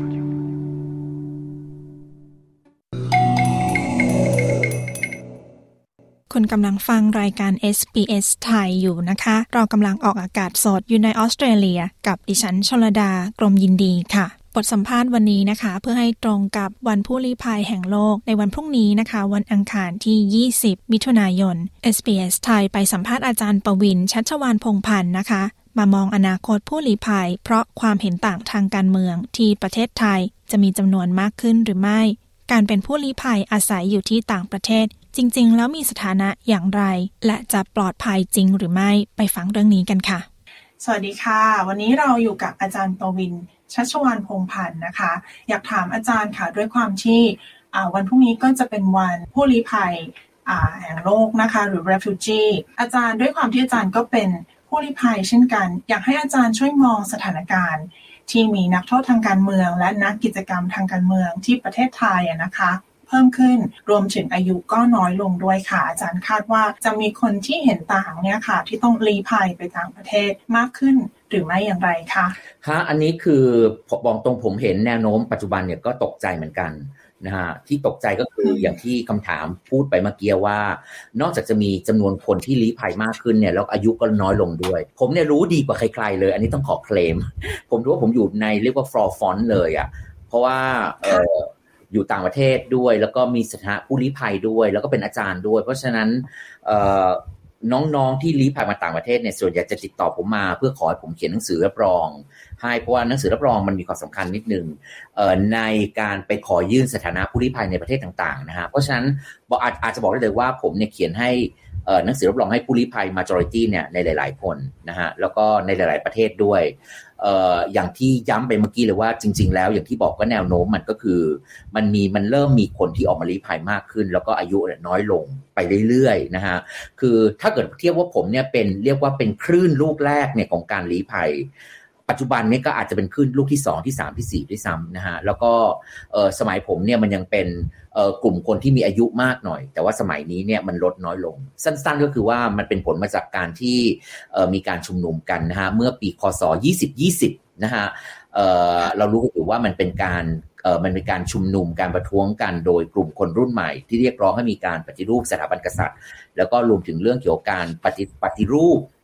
คุณกำลังฟังรายการ เอส บี เอส ไทยอยู่นะคะเรากำลังออกอากาศสดอยู่ในออสเตรเลียกับดิฉันชลดากรมยินดีค่ะบทสัมภาษณ์วันนี้นะคะเพื่อให้ตรงกับวันผู้ลี้ภัยแห่งโลกในวันพรุ่งนี้นะคะวันอังคารที่ยี่สิบมิถุนายน เอส บี เอส ไทยไปสัมภาษณ์อาจารย์ประวินชัชวาลพงษ์พันธ์นะคะมามองอนาคตผู้ลี้ภัยเพราะความเห็นต่างทางการเมืองที่ประเทศไทยจะมีจำนวนมากขึ้นหรือไม่การเป็นผู้ลี้ภัยอาศัยอยู่ที่ต่างประเทศจริงๆแล้วมีสถานะอย่างไรและจะปลอดภัยจริงหรือไม่ไปฟังเรื่องนี้กันค่ะสวัสดีค่ะวันนี้เราอยู่กับอาจารย์ประวินชัชวาลพงษ์พันธ์นะคะอยากถามอาจารย์ค่ะด้วยความที่วันพรุ่งนี้ก็จะเป็นวันผู้ลี้ภัยแห่งโลกนะคะหรือ refugee อาจารย์ด้วยความที่อาจารย์ก็เป็นผู้ลี้ภัยเช่นกันอยากให้อาจารย์ช่วยมองสถานการณ์ที่มีนักโทษทางการเมืองและนักกิจกรรมทางการเมืองที่ประเทศไทยนะคะเพิ่มขึ้นรวมถึงอายุก็น้อยลงด้วยค่ะอาจารย์คาดว่าจะมีคนที่เห็นต่างเนี่ยค่ะที่ต้องลี้ภัยไปต่างประเทศมากขึ้นหรือไม่อย่างไรคะฮะอันนี้คือผมบอกตรงผมเห็นแนวโน้มปัจจุบันเนี่ยก็ตกใจเหมือนกันนะฮะที่ตกใจก็คืออย่างที่คำถามพูดไปเมื่อกี้ว่านอกจากจะมีจำนวนคนที่ลี้ภัยมากขึ้นเนี่ยแล้วอายุก็น้อยลงด้วยผมเนี่ยรู้ดีกว่าใครๆเลยอันนี้ต้องขอเคลมผมรู้ว่าผมอยู่ในเรียกว่าฟลอร์ฟอนต์เลยอ่ะเพราะว่าเอ่ออยู่ต่างประเทศด้วยแล้วก็มีสถานะผู้ลี้ภัยด้วยแล้วก็เป็นอาจารย์ด้วยเพราะฉะนั้นเอ่อน้องๆที่ลี้ภัยมาต่างประเทศเนี่ยส่วนใหญ่จะติดต่อผมมาเพื่อขอให้ผมเขียนหนังสือรับรองให้เพราะว่าหนังสือรับรองมันมีความสำคัญนิดนึงเอ่อในการไปขอยื่นสถานะผู้ลี้ภัยในประเทศต่างๆนะฮะเพราะฉะนั้นบอกอาจอาจจะบอกได้เลยว่าผมเนี่ยเขียนให้เอ่อหนังสือรับรองให้ผู้ลี้ภัย majority เนี่ยในหลายๆคนนะฮะแล้วก็ในหลายๆประเทศด้วยเอ่ออย่างที่ย้ำไปเมื่อกี้เลยว่าจริงๆแล้วอย่างที่บอกก็แนวโน้มมันก็คือมันมีมันเริ่มมีคนที่ออกมาลี้ภัยมากขึ้นแล้วก็อายุน้อยลงไปเรื่อยๆนะฮะคือถ้าเกิดเทียบว่าผมเนี่ยเป็นเรียกว่าเป็นคลื่นลูกแรกเนี่ยของการลี้ภัยปัจจุบันนี้ก็อาจจะเป็นคลื่นลูกที่สองที่สามที่สี่ด้วยซ้ำนะฮะแล้วก็เอ่อสมัยผมเนี่ยมันยังเป็นเอ่อกลุ่มคนที่มีอายุมากหน่อยแต่ว่าสมัยนี้เนี่ยมันลดน้อยลงสั้นๆก็คือว่ามันเป็นผลมาจากการที่เอ่อมีการชุมนุมกันนะฮะเมื่อปีคศยี่สิบยี่สิบนะฮะเอ่อเรารู้กันอยู่ว่ามันเป็นการเอ่อมันเป็นการชุมนุมการประท้วงกันโดยกลุ่มคนรุ่นใหม่ที่เรียกร้องให้มีการปฏิรูปสถาบันกษัตริย์แล้วก็รวมถึงเรื่องเกี่ยวกับการปฏิปฏิรูป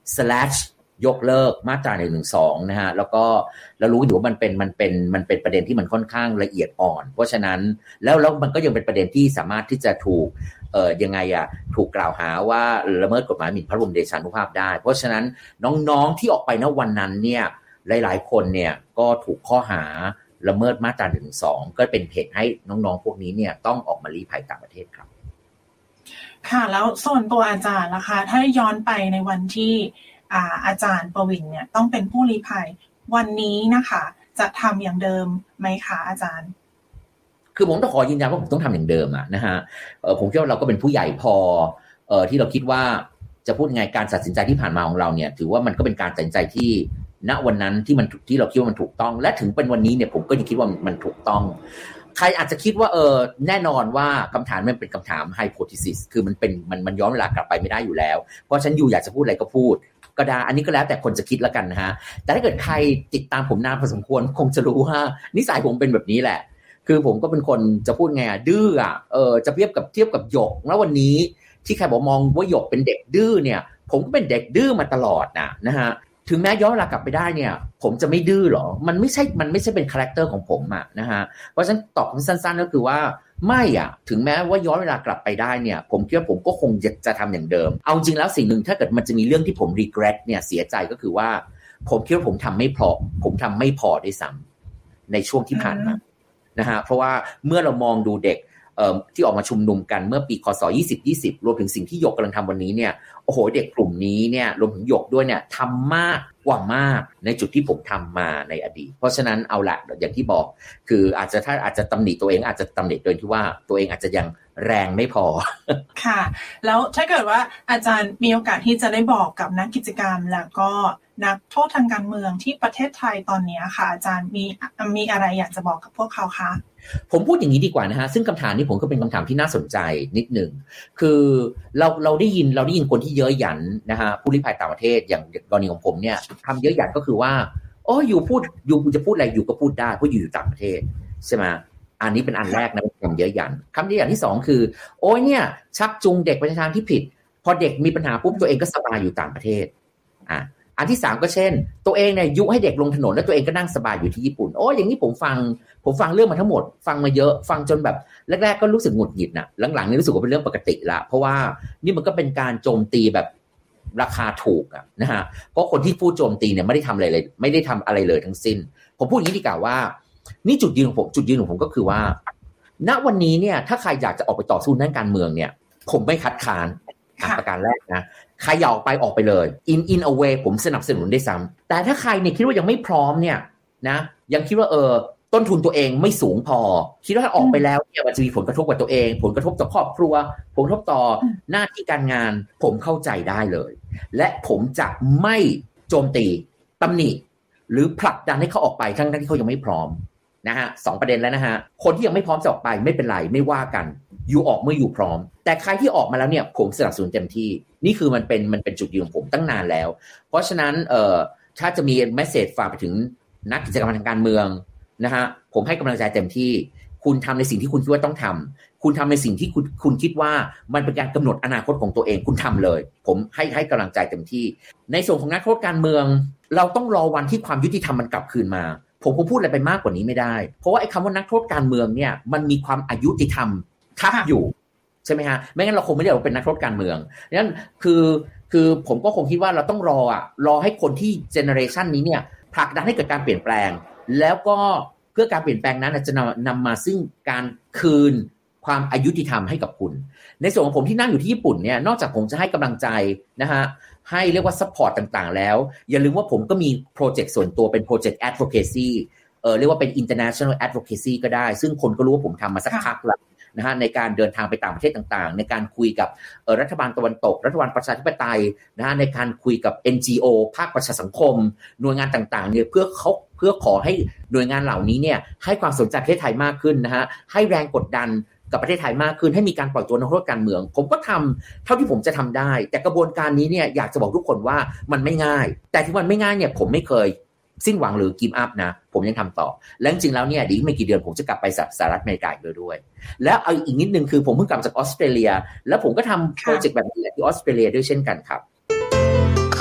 slash ยกเลิกมาตราหนึ่งหนึ่งสองนะฮะแล้วก็เรารู้อยู่ว่ามันเป็นมันเป็นมันเป็นประเด็นที่มันค่อนข้างละเอียดอ่อนเพราะฉะนั้นแล้วแล้วมันก็ยังเป็นประเด็นที่สามารถที่จะถูกเอ่อยังไงอ่ะถูกกล่าวหาว่าละเมิดกฎหมายหมิ่นพระบรมเดชานุภาพได้เพราะฉะนั้นน้องๆที่ออกไปณวันนั้นเนี่ยหลายๆคนเนี่ยก็ถูกข้อหาละเมิดมาตราหนึ่งหนึ่งสองก็เป็นเหตุให้น้องๆพวกนี้เนี่ยต้องออกมาลี้ภัยต่างประเทศครับค่ะแล้วส่วนตัวอาจารย์ล่ะคะถ้าย้อนไปในวันที่อ่าอาจารย์ประวินเนี่ยต้องเป็นผู้ลี้ภัยวันนี้นะคะจะทำอย่างเดิมไหมคะอาจารย์คือผมต้องขอยืนยันว่าผมต้องทำอย่างเดิมอะนะฮะเออผมคิดว่าเราก็เป็นผู้ใหญ่พอเออที่เราคิดว่าจะพูดยังไงการตัดสินใจที่ผ่านมาของเราเนี่ยถือว่ามันก็เป็นการตัดสินใจที่ณวันนั้นที่มันที่เราคิดว่ามันถูกต้องและถึงเป็นวันนี้เนี่ยผมก็ยังคิดว่ามันถูกต้องใครอาจจะคิดว่าเออแน่นอนว่าคำถามมันเป็นคำถามไฮโพธีซิสคือมันเป็นมันมันย้อนเวลากลับไปไม่ได้อยู่แล้วเพราะฉะนั้นอยู่อยากจะพูดอะไรก็พูดก็ได้อันนี้ก็แล้วแต่คนจะคิดแล้วกันนะฮะแต่ถ้าเกิดใครติดตามผมนานพอสมควรคงจะรู้ว่านิสัยผมเป็นแบบนี้แหละคือผมก็เป็นคนจะพูดไงอ่ะดื้ออ่ะเออจะเทียบกับเทียบกับหยกแล้ววันนี้ที่ใครบอกมองว่าหยกเป็นเด็กดื้อเนี่ยผมก็เป็นเด็กดื้อมาตลอดนะนะฮะถึงแม้ย้อนเวลากลับไปได้เนี่ยผมจะไม่ดื้อหรอมันไม่ใช่มันไม่ใช่เป็นคาแรคเตอร์ของผมอ่ะนะฮะเพราะฉะนั้นตอบสั้นๆก็คือว่าไม่อ่ะถึงแม้ว่าย้อนเวลากลับไปได้เนี่ยผมคิดว่าผมก็คงจะจะทำอย่างเดิมเอาจริงแล้วสิ่งหนึ่งถ้าเกิดมันจะมีเรื่องที่ผม regret เนี่ยเสียใจก็คือว่าผมคิดว่าผมทำไม่พอผมทำไม่พอด้วยซ้ำในช่วงที่ผ่านมานะฮะเพราะว่าเมื่อเรามองดูเด็กเอ่อที่ออกมาชุมนุมกันเมื่อปีคศยี่สิบ ยี่สิบรวมถึงสิ่งที่หยกกำลังทำวันนี้เนี่ยโอ้โหเด็กกลุ่มนี้เนี่ยรวมถึงหยกด้วยเนี่ยทำมากกว่ามากในจุดที่ผมทำมาในอดีตเพราะฉะนั้นเอาละอย่างที่บอกคืออาจจะถ้าอาจจะตำหนิตัวเองอาจจะตำหนิโดยที่ว่าตัวเองอาจจะยังแรงไม่พอค่ะแล้วถ้าเกิดว่าอาจารย์มีโอกาสที่จะได้บอกกับนักกิจกรรมแล้วก็นักโทษทางการเมืองที่ประเทศไทยตอนนี้ค่ะอาจารย์มีมีอะไรอยากจะบอกกับพวกเขาคะผมพูดอย่างนี้ดีกว่านะฮะซึ่งคำถามนี้ผมก็เป็นคำถามที่น่าสนใจนิดหนึ่งคือเราเราได้ยินเราได้ยินคนที่เย้ยหยันนะฮะผู้ลี้ภัยต่างประเทศอย่างกรณีของผมเนี่ยคำเย้ยหยันก็คือว่าโอ้อยู่พูดอยู่จะพูดอะไรอยู่ก็พูดได้เพราะอยู่อยู่ต่างประเทศใช่ไหมอันนี้เป็นอันแรกนะคำเย้ยหยันคำเย้ยหยันที่สองคือโอ้ยเนี่ยชักจูงเด็กไปในทางที่ผิดพอเด็กมีปัญหาปุ๊บตัวเองก็สบายอยู่ต่างประเทศอ่ะอันที่สามก็เช่นตัวเองเนี่ยยุให้เด็กลงถนนแล้วตัวเองก็นั่งสบายอยู่ที่ญี่ปุ่นโอ้อย่างนี้ผมฟังผมฟังเรื่องมาทั้งหมดฟังมาเยอะฟังจนแบบแรกๆก็รู้สึกหงุดหงิดนะหลังๆนี่รู้สึกว่าเป็นเรื่องปกติละเพราะว่านี่มันก็เป็นการโจมตีแบบราคาถูกอะนะฮะเพราะคนที่พูดโจมตีเนี่ยไม่ได้ทำอะไรเลยไม่ได้ทำอะไรเลยทั้งสิ้นผมพูดอย่างนี้ดีกว่าว่านี่จุดยืนของผมจุดยืนของผมก็คือว่าณวันนี้เนี่ยถ้าใครอยากจะออกไปต่อสู้ด้านการเมืองเนี่ยผมไม่คัดค้านประการแรกนะใครอยากออกไปออกไปเลย in in a way ผมสนับสนุนได้ซ้ำแต่ถ้าใครเนี่ยคิดว่ายังไม่พร้อมเนี่ยนะยังคิดว่าเออต้นทุนตัวเองไม่สูงพอคิดว่าถ้าออกไปแล้วเนี่ยมันจะมีผลกระทบกับตัวเองผลกระทบต่อครอบครัวผลกระทบต่อหน้าที่การงานผมเข้าใจได้เลยและผมจะไม่โจมตีตำหนิหรือผลักดันให้เขาออกไปทั้งที่เขายังไม่พร้อมนะฮะสองประเด็นแล้วนะฮะคนที่ยังไม่พร้อมจะออกไปไม่เป็นไรไม่ว่ากันอยู่ออกเมื่ออยู่พร้อมแต่ใครที่ออกมาแล้วเนี่ยผมสนับสนุนเต็มที่นี่คือมันเป็นมันเป็นจุดยืนของผมตั้งนานแล้วเพราะฉะนั้นเอ่อถ้าจะมีเมสเสจฝากไปถึงนักกิจกรรมทางการเมืองนะฮะผมให้กำลังใจเต็มที่คุณทำในสิ่งที่คุณคิดว่าต้องทำคุณทำในสิ่งที่คุณคุณคิดว่ามันเป็นการกำหนดอนาคตของตัวเองคุณทำเลยผมให้ให้กำลังใจเต็มที่ในส่วนของนักโทษการเมืองเราต้องรอวันที่ความยุติธรรมมันกลับคืนมาผมคงพูดอะไรไปมากกว่านี้ไม่ได้เพราะว่าไอ้คำว่านักโทษการเมืองเนี่ยมันมีความอายุติธรรมทับอยู่ใช่ไหมฮะไม่งั้นเราคงไม่ได้เราเป็นนักโทษการเมืองดังนั้นคือคือผมก็คงคิดว่าเราต้องรออ่ะรอให้คนที่เจเนอเรชันนี้เนี่ยผลักดันให้เกิดการเปลี่ยนแปลงแล้วก็เพื่อการเปลี่ยนแปลงนั้นจะนำนำมาซึ่งการคืนความอายุติธรรมให้กับคุณในส่วนของผมที่นั่งอยู่ที่ญี่ปุ่นเนี่ยนอกจากผมจะให้กำลังใจนะฮะให้เรียกว่าซัพพอร์ตต่างๆแล้วอย่าลืมว่าผมก็มีโปรเจกต์ส่วนตัวเป็นโปรเจกต์ advocacy เออเรียกว่าเป็น international advocacy ก็ได้ซึ่งคนก็รู้ว่าผมทำมาสักพักแล้วนะฮะในการเดินทางไปต่างประเทศต่างๆในการคุยกับเอ่อรัฐบาลตะวันตกรัฐบาลประชาธิปไตยนะฮะในการคุยกับ เอ็น จี โอ ภาคประชาสังคมหน่วยงานต่างๆเนี่ยเพื่อเขาเพื่อขอให้หน่วยงานเหล่านี้เนี่ยให้ความสนใจประเทศไทยมากขึ้นนะฮะให้แรงกดดันกับประเทศไทยมากขึ้นให้มีการปล่อยตัวนักโทษการเมืองผมก็ทำเท่าที่ผมจะทำได้แต่กระบวนการนี้เนี่ยอยากจะบอกทุกคนว่ามันไม่ง่ายแต่ที่มันไม่ง่ายเนี่ยผมไม่เคยสิ้นหวังหรือกิฟต์อัพนะผมยังทำต่อและจริงๆแล้วเนี่ยดีไม่กี่เดือนผมจะกลับไปสหรัฐอเมริกาอีกด้วยแล้วเอาอีกนิดนึงคือผมเพิ่งกลับจากออสเตรเลียแล้วผมก็ทำโปรเจกต์แบบนี้ที่ออสเตรเลียด้วยเช่นกันครับค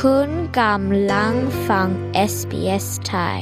คุณกำลังฟัง เอส บี เอส Thai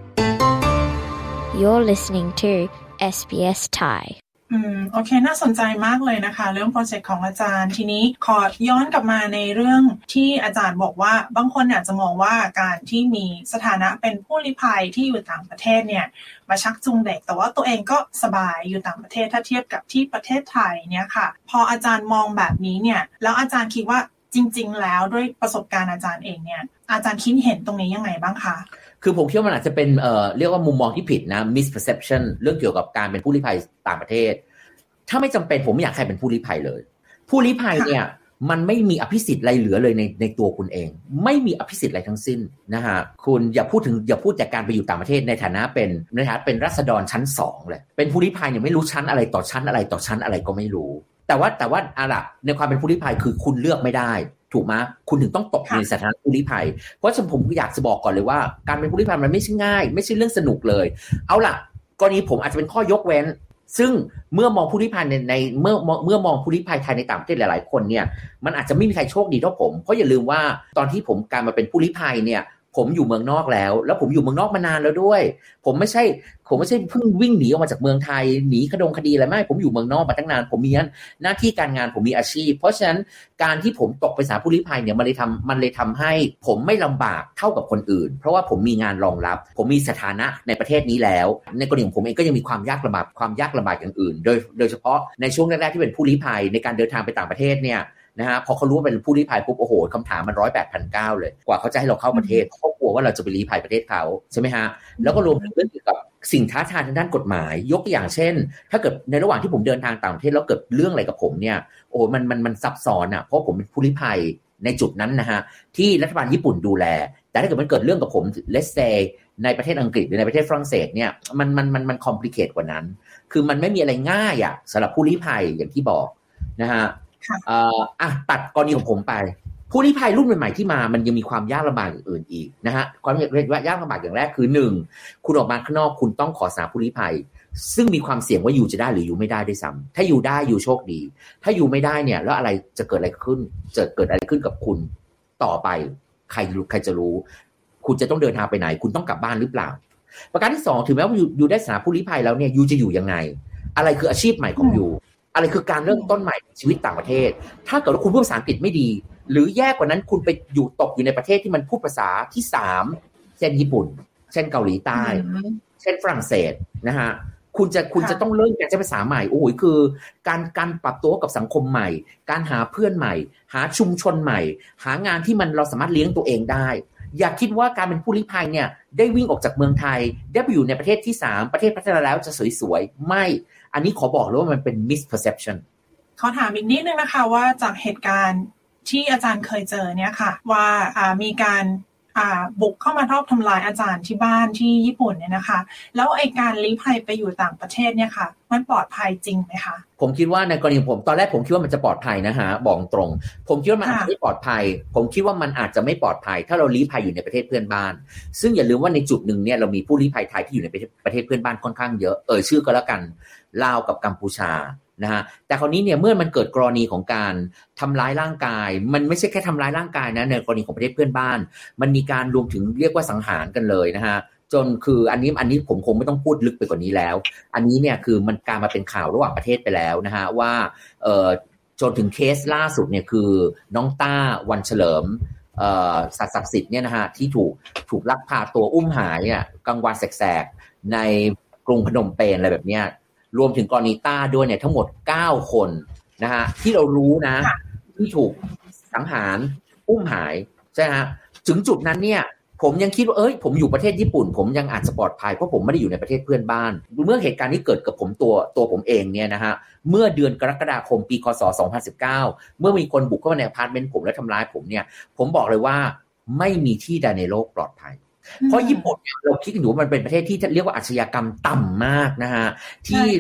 You're listening to เอส บี เอส Thai อืมโอเคน่าสนใจมากเลยนะคะเรื่องโปรเจกต์ของอาจารย์ทีนี้ขอย้อนกลับมาในเรื่องที่อาจารย์บอกว่าบางคนอาจจะมองว่าการที่มีสถานะเป็นผู้ลี้ภัยที่อยู่ต่างประเทศเนี่ยมาชักจูงเด็กแต่ว่าตัวเองก็สบายอยู่ต่างประเทศถ้าเทียบกับที่ประเทศไทยเนี่ยค่ะพออาจารย์มองแบบนี้เนี่ยแล้วอาจารย์คิดว่าจริงๆแล้วด้วยประสบการณ์อาจารย์เองเนี่ยอาจารย์คิดเห็นตรงนี้ยังไงบ้างคะคือผมคิดว่ามันอาจจะเป็นเอ่อเรียกว่ามุมมองที่ผิดนะ misperception เรื่องเกี่ยวกับการเป็นผู้ลี้ภัยต่างประเทศถ้าไม่จำเป็นผมไม่อยากใครเป็นผู้ลี้ภัยเลยผู้ลี้ภัยเนี่ยมันไม่มีอภิสิทธิ์อะไรเหลือเลยในในตัวคุณเองไม่มีอภิสิทธิ์อะไรทั้งสิ้นนะฮะคุณอย่าพูดถึงอย่าพูดจากการไปอยู่ต่างประเทศในฐานะเป็นในฐานะเป็นราษฎรชั้นสองเลยเป็นผู้ลี้ภัยเนี่ยไม่รู้ชั้นอะไรต่อชั้นอะไรต่อชั้นอะไรก็ไม่รู้แต่ว่าแต่ว่าอะล่ะในความเป็นผู้ลี้ภัยคือคุณเลือกไม่ได้ถูกไหมคุณถึงต้องตกในสถานะผู้ลี้ภัยเพราะฉะนั้นผมอยากจะบอกก่อนเลยว่าการเป็นผู้ลี้ภัยมันไม่ใช่ง่ายไม่ใช่เรื่องสนุกเลยเอาล่ะกรณีผมอาจจะเป็นข้อยกเว้นซึ่งเมื่อมองผู้ลี้ภัยในในเมื่อเมื่อมองผู้ลี้ภัยไทยในต่างประเทศหลายๆคนเนี่ยมันอาจจะไม่มีใครโชคดีเท่าผมเพราะอย่าลืมว่าตอนที่ผมการมาเป็นผู้ลี้ภัยเนี่ยผมอยู่เมืองนอกแล้วแล้วผมอยู่เมืองนอกมานานแล้วด้วยผมไม่ใช่ผมไม่ใช่เพิ่งวิ่งหนีออกมาจากเมืองไทยหนีคดงคดีอะไรไม่ผมอยู่เมืองนอกมาตั้งนานผมมีหน้าที่การงานผมมีอาชีพเพราะฉะนั้นการที่ผมตกเป็นสาผู้ลี้ภัยเนี่ยมันเลยทำมันเลยทำให้ผมไม่ลำบากเท่ากับคนอื่นเพราะว่าผมมีงานรองรับผมมีสถานะในประเทศนี้แล้วในกรณีของผมเองก็ยังมีความยากลำบากความยากลำบากอย่างอื่นโดยโดยเฉพาะในช่วงแรกๆที่เป็นผู้ลี้ภัยในการเดินทางไปต่างประเทศเนี่ยนะฮะพอเขารู้ว่าเป็นผู้ลี้ภัยปุ๊บโอ้โหคำถามมันร้อยแปดพันเก้าเลยกว่าเขาจะให้เราเข้าประเทศเขากลัวว่าเราจะไปลี้ภัยประเทศเขาใช่ไหมฮะแล้วก็รวมถึงเรื่องเกี่ยวกับสิ่งท้าทายทางด้านกฎหมายยกตัวอย่างเช่นถ้าเกิดในระหว่างที่ผมเดินทางต่างประเทศแล้วเกิดเรื่องอะไรกับผมเนี่ยโอ้มันมันมันซับซ้อนอ่ะเพราะผมเป็นผู้ลี้ภัยในจุดนั้นนะฮะที่รัฐบาลญี่ปุ่นดูแลแต่ถ้าเกิดมันเกิดเรื่องกับผม let's say ในประเทศอังกฤษหรือในประเทศฝรั่งเศสเนี่ยมันมันมันมัน complicate กว่านั้นคือมันไม่มีอะไรง่ายอ่ะสำหรับผู้ลี้ภัยอย่างที่บอกนะฮะเอ่ออ่ะตัดกรณีของผมไปผู้ลี้ภัยรุ่นใหม่ๆที่มามันยังมีความยากลำบากอื่นอีกนะฮะความยากลำบากอย่างแรกคือหนึ่งคุณออกมาข้างนอกคุณต้องขอสาผู้ลี้ภัยซึ่งมีความเสี่ยงว่าอยู่จะได้หรืออยู่ไม่ได้ด้วยซ้ำถ้าอยู่ได้อยู่โชคดีถ้าอยู่ไม่ได้เนี่ยแล้วอะไรจะเกิดอะไรขึ้นจะเกิดอะไรขึ้นกับคุณต่อไปใครรู้ใครจะรู้คุณจะต้องเดินทางไปไหนคุณต้องกลับบ้านหรือเปล่าประการที่สองถึงแม้ว่าอยู่อยู่ได้สาผู้ลี้ภัยแล้วเนี่ยอยู่จะอยู่ยังไงอะไรคืออาชีพใหม่ของอยู่อะไรคือการเริ่มต้นใหม่ชีวิตต่างประเทศถ้าเกิดว่าคุณพูดภาษาอังกฤษไม่ดีหรือแย่กว่านั้นคุณไปอยู่ตกอยู่ในประเทศที่มันพูดภาษาที่สามเช่นญี่ปุ่นเช่นเกาหลีใต้เช่นฝรั่งเศสนะฮะคุณจะคุณจะต้องเริ่มการใช้ภาษาใหม่โอ้โหคือการการปรับตัวกับสังคมใหม่การหาเพื่อนใหม่หาชุมชนใหม่หางานที่มันเราสามารถเลี้ยงตัวเองได้อย่าคิดว่าการเป็นผู้ลี้ภัยเนี่ยได้วิ่งออกจากเมืองไทยได้ไปอยู่ในประเทศที่สามประเทศพัฒนาแล้วจะสวยๆไม่อันนี้ขอบอกเลยว่ามันเป็น misperception ขอถามอีกนิดนึงนะคะว่าจากเหตุการณ์ที่อาจารย์เคยเจอเนี่ยค่ะว่าอ่ามีการอ่าบุกเข้ามารอบทำลายอาจารย์ที่บ้านที่ญี่ปุ่นเนี่ยนะคะแล้วไอ้การลี้ภัยไปอยู่ต่างประเทศเนี่ยค่ะมันปลอดภัยจริงไหมคะผมคิดว่าในกรณีผมตอนแรกผมคิดว่ามันจะปลอดภัยนะฮะบอกตรงผมคิดว่ามันอาจจะไม่ปลอดภัยผมคิดว่ามันอาจจะไม่ปลอดภัยถ้าเราลี้ภัยอยู่ในประเทศเพื่อนบ้านซึ่งอย่าลืมว่าในจุดหนึ่งเนี่ยเรามีผู้ลี้ภัยไทยที่อยู่ในประเทศเพื่อนบ้านค่อนข้างเยอะเอ่ยชื่อก็แล้วกันลาวกับกัมพูชานะฮะแต่คราวนี้เนี่ยเมื่อมันเกิดกรณีของการทำร้ายร่างกายมันไม่ใช่แค่ทำร้ายร่างกายนะในกรณีของประเทศเพื่อนบ้านมันมีการรวมถึงเรียกว่าสังหารกันเลยนะฮะจนคืออันนี้อันนี้ผมคงไม่ต้องพูดลึกไปกว่านี้แล้วอันนี้เนี่ยคือมันการมาเป็นข่าวระหว่างประเทศไปแล้วนะฮะว่าเอ่อจนถึงเคสล่าสุดเนี่ยคือน้องต้าวันเฉลิมเอ่อสัตว์ศักดิ์สิทธิ์เนี่ยนะฮะที่ถูกถูกลักพาตัวอุ้มหายเนี่ยกลางวันแสกๆในกรุงพนมเปญอะไรแบบเนี้ยรวมถึงกรณีต้าด้วยเนี่ยทั้งหมดเก้าคนนะฮะที่เรารู้นะที่ถูกสังหารอุ้มหายใช่ฮะถึงจุดนั้นเนี่ยผมยังคิดว่าเอ้ยผมอยู่ประเทศญี่ปุ่นผมยังอาจจะปลอดภัยเพราะผมไม่ได้อยู่ในประเทศเพื่อนบ้านเมื่อเหตุการณ์นี้เกิดกับผมตัวตัวผมเองเนี่ยนะฮะเมื่อเดือนกรกฎาคมปีคศสองพันสิบเก้าเมื่อมีคนบุกเข้ามาในอพาร์ตเมนต์ผมและทำร้ายผมเนี่ยผมบอกเลยว่าไม่มีที่ใดในโลกปลอดภัยเพราะญี่ปุ่นเนี่ยเราคิดกันอยู่ว่ามันเป็นประเทศที่เรียกว่าอาชญากรรมต่ำมากนะฮะที่ระโหยระ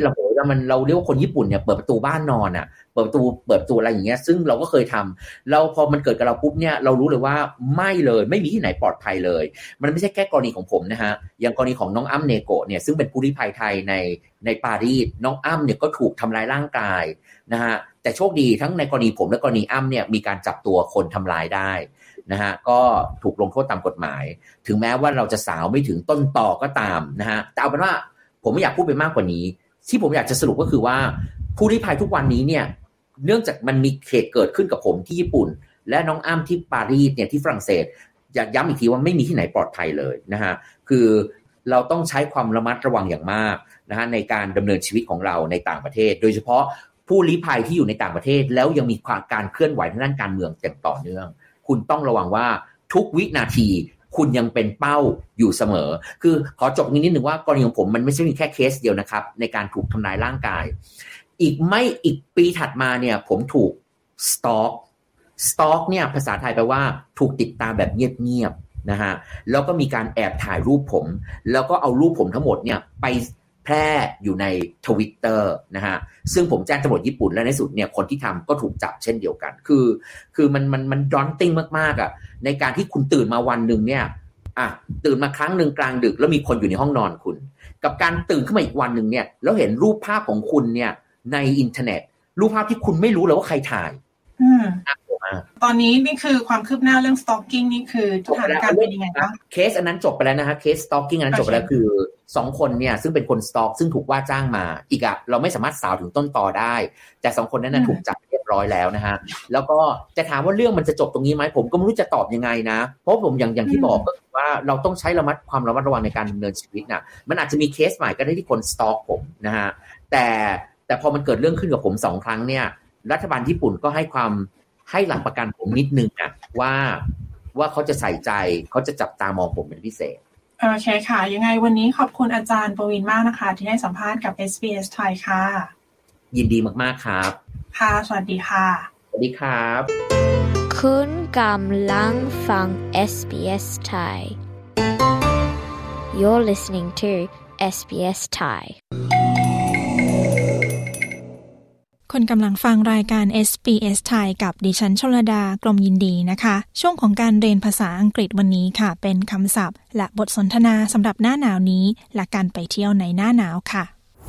นะมันเราเรียกว่าคนญี่ปุ่นเนี่ยเปิดประตูบ้านนอนอ่ะเปิดประตูเปิดประตูอะไรอย่างเงี้ยซึ่งเราก็เคยทำเราพอมันเกิดกับเราปุ๊บเนี่ยเรารู้เลยว่าไม่เลยไม่มีที่ไหนปลอดภัยเลยมันไม่ใช่แค่กรณีของผมนะฮะอย่างกรณีของน้องอ้ำเนโกะเนี่ยซึ่งเป็นผู้ลี้ภัยไทยในในปารีสน้องอ้ำเนี่ยก็ถูกทำร้ายร่างกายนะฮะแต่โชคดีทั้งในกรณีผมและกรณีอ้ำเนี่ยมีการจับตัวคนทำร้ายได้นะฮะก็ถูกลงโทษตามกฎหมายถึงแม้ว่าเราจะสาวไม่ถึงต้นตอก็ตามนะฮะแต่เอาเป็นว่าผมไม่อยากพูดไปมากกว่านี้ที่ผมอยากจะสรุปก็คือว่าผู้ลี้ภัยทุกวันนี้เนี่ยเนื่องจากมันมีเหตุเกิดขึ้นกับผมที่ญี่ปุ่นและน้องอ้ำที่ปารีสเนี่ยที่ฝรั่งเศสอยากย้ำอีกทีว่าไม่มีที่ไหนปลอดภัยเลยนะฮะคือเราต้องใช้ความระมัดระวังอย่างมากนะฮะในการดำเนินชีวิตของเราในต่างประเทศโดยเฉพาะผู้ลี้ภัยที่อยู่ในต่างประเทศแล้วยังมีการเคลื่อนไหวทางด้านการเมืองอย่างต่อเนื่องคุณต้องระวังว่าทุกวินาทีคุณยังเป็นเป้าอยู่เสมอคือขอจบนิดนึงว่ากรณีของผมมันไม่ใช่มีแค่เคสเดียวนะครับในการถูกทำร้ายร่างกายอีกไม่อีกปีถัดมาเนี่ยผมถูกสตอกสตอกเนี่ยภาษาไทยแปลว่าถูกติดตามแบบเงียบๆนะฮะแล้วก็มีการแอบถ่ายรูปผมแล้วก็เอารูปผมทั้งหมดเนี่ยไปแพร่อยู่ใน Twitter นะฮะซึ่งผมแจ้งตำรวจญี่ปุ่นและในสุดเนี่ยคนที่ทำก็ถูกจับเช่นเดียวกันคือคือมันมันมันดอนติ้งมากๆอ่ะในการที่คุณตื่นมาวันนึงเนี่ยอ่ะตื่นมาครั้งนึงกลางดึกแล้วมีคนอยู่ในห้องนอนคุณกับการตื่นขึ้นมาอีกวันนึงเนี่ยแล้วเห็นรูปภาพของคุณเนี่ยในอินเทอร์เน็ตรูปภาพที่คุณไม่รู้เลยว่าใครถ่ายอืมตอนนี้นี่คือความคืบหน้าเรื่อง stalking นี่คือสถานการณ์เป็นยังไงบ้างเคสอันนั้นจบไปแล้วนะฮะเคส stalking อันนั้นจบไปแล้วคือสองคนเนี่ยซึ่งเป็นคน stalk ซึ่งถูกว่าจ้างมาอีกอะเราไม่สามารถสาวถึงต้นตอได้แต่สองคนนั้นน่ะถูกจับเรียบร้อยแล้วนะฮะแล้วก็จะถามว่าเรื่องมันจะจบตรงนี้ไหมผมก็ไม่รู้จะตอบยังไงนะเพราะผมอย่างอย่างที่บอกก็คือว่าเราต้องใช้ระมัดความระมัดระวังในการดำเนินชีวิตน่ะมันอาจจะมีเคสใหม่ก็ได้ที่คน stalk ผมนะฮะแต่แต่พอมันเกิดเรื่องขึ้นกับผมสองครั้งเนี่ยรัฐบาลญี่ปุ่นก็ให้ความให้หลักประกันผมนิดนึงอ่ะว่าว่าเขาจะใส่ใจเขาจะจับตามองผมเป็นพิเศษโอเคค่ะยังไงวันนี้ขอบคุณอาจารย์ปวินมากนะคะที่ให้สัมภาษณ์กับ เอส บี เอส ไทยค่ะยินดีมากๆครับค่ะสวัสดีค่ะสวัสดีครับคุณกำลังฟัง เอส บี เอส Thai You're listening to เอส บี เอส Thai คุณกำลังฟังรายการ เอส บี เอส ไทยกับดิฉันชลดากรมยินดีนะคะช่วงของการเรียนภาษาอังกฤษวันนี้ค่ะเป็นคำศัพท์และบทสนทนาสำหรับหน้าหนาวนี้และการไปเที่ยวในหน้าหนาวค่ะ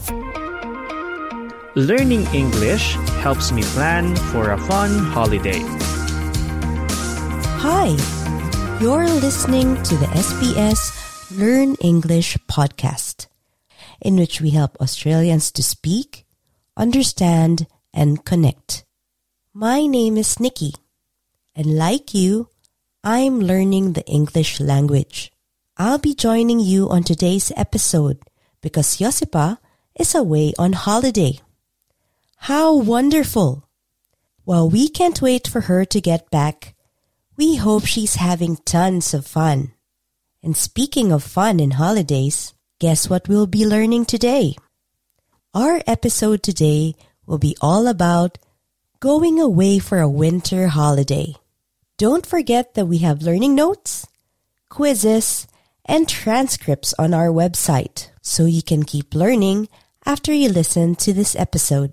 Learning English helps me plan for a fun holiday. Hi, you're listening to the เอส บี เอสLearn English podcast, in which we help Australians to speak, understand, and connect. My name is Nikki, and like you, I'm learning the English language. I'll be joining you on today's episode because Josipa is away on holiday. How wonderful! Well, we can't wait for her to get back. We hope she's having tons of fun. And speaking of fun and holidays, guess what we'll be learning today? Our episode today will be all about going away for a winter holiday. Don't forget that we have learning notes, quizzes, and transcripts on our website, so you can keep learning after you listen to this episode.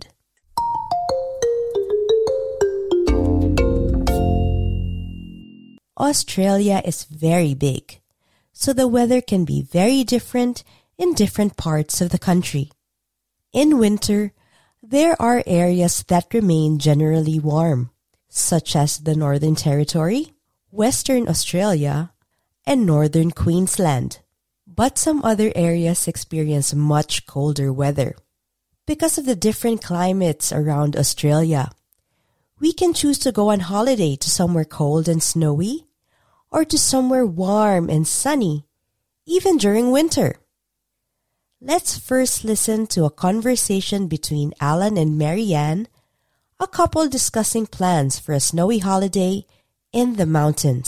Australia is very big, so the weather can be very different in different parts of the country. In winter, there are areas that remain generally warm, such as the Northern Territory, Western Australia, and Northern Queensland. But some other areas experience much colder weather. Because of the different climates around Australia, we can choose to go on holiday to somewhere cold and snowy, or to somewhere warm and sunny, even during winter. Let's first listen to a conversation between Alan and Marianne, a couple discussing plans for a snowy holiday in the mountains.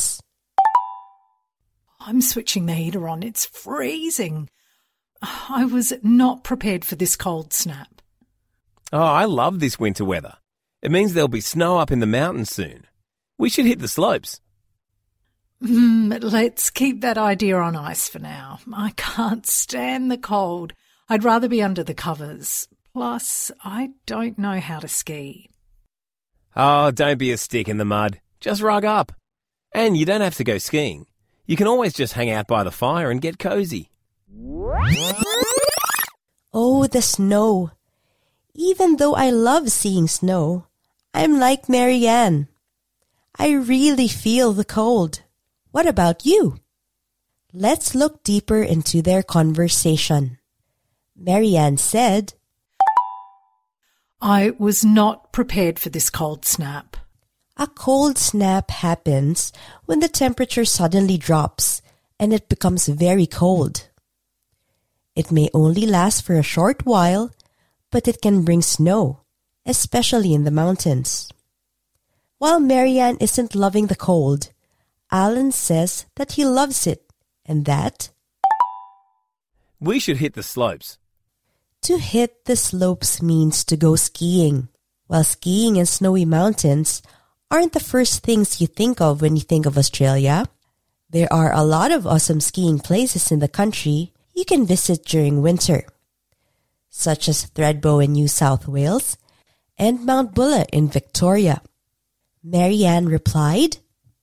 I'm switching the heater on. It's freezing. I was not prepared for this cold snap. Oh, I love this winter weather. It means there'll be snow up in the mountains soon. We should hit the slopes. Mm, let's keep that idea on ice for now. I can't stand the cold. I'd rather be under the covers. Plus, I don't know how to ski. Oh, don't be a stick in the mud. Just rug up. And you don't have to go skiing. You can always just hang out by the fire and get cozy. Oh, the snow. Even though I love seeing snow, I'm like Marianne. I really feel the cold. What about you? Let's look deeper into their conversation. Marianne said, I was not prepared for this cold snap. A cold snap happens when the temperature suddenly drops and it becomes very cold. It may only last for a short while, but it can bring snow, especially in the mountains. While Marianne isn't loving the cold, Alan says that he loves it and that we should hit the slopes. To hit the slopes means to go skiing. While skiing in snowy mountains aren't the first things you think of when you think of Australia, there are a lot of awesome skiing places in the country you can visit during winter, such as Thredbo in New South Wales and Mount Buller in Victoria. Marianne replied,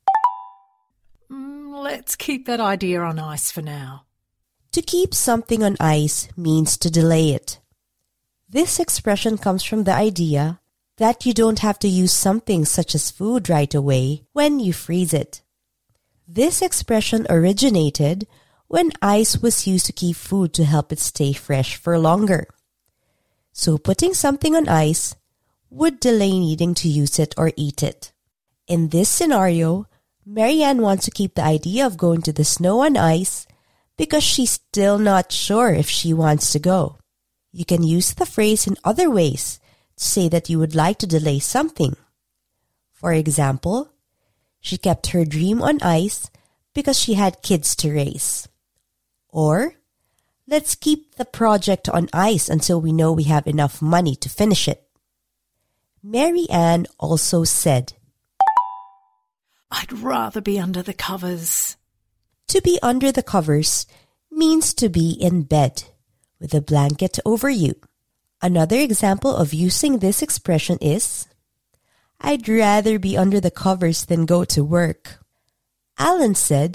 mm, Let's keep that idea on ice for now. To keep something on ice means to delay it. This expression comes from the idea that you don't have to use something such as food right away when you freeze it. This expression originated when ice was used to keep food to help it stay fresh for longer. So putting something on ice would delay needing to use it or eat it. In this scenario, Marianne wants to keep the idea of going to the snow and ice because she's still not sure if she wants to go. You can use the phrase in other ways to say that you would like to delay something. For example, she kept her dream on ice because she had kids to raise. Or, let's keep the project on ice until we know we have enough money to finish it. Marianne also said, I'd rather be under the covers. To be under the covers means to be in bed with a blanket over you. Another example of using this expression is, I'd rather be under the covers than go to work. Alan said,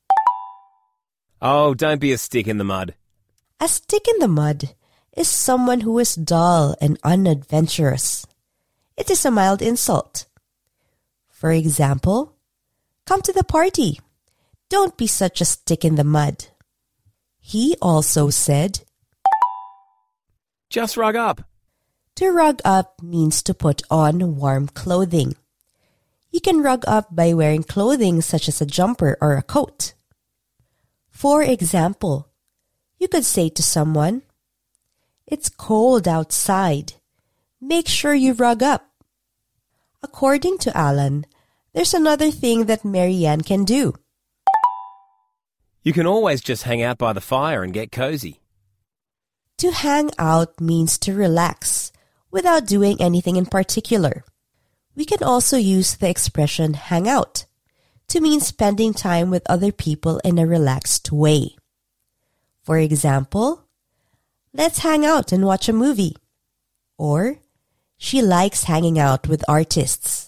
Oh, don't be a stick in the mud. A stick in the mud is someone who is dull and unadventurous. It is a mild insult. For example, come to the party. Don't be such a stick in the mud. He also said, Just rug up. To rug up means to put on warm clothing. You can rug up by wearing clothing such as a jumper or a coat. For example, you could say to someone, It's cold outside. Make sure you rug up. According to Alan, there's another thing that Marianne can do. You can always just hang out by the fire and get cozy. To hang out means to relax without doing anything in particular. We can also use the expression hang out to mean spending time with other people in a relaxed way. For example, let's hang out and watch a movie. Or, she likes hanging out with artists.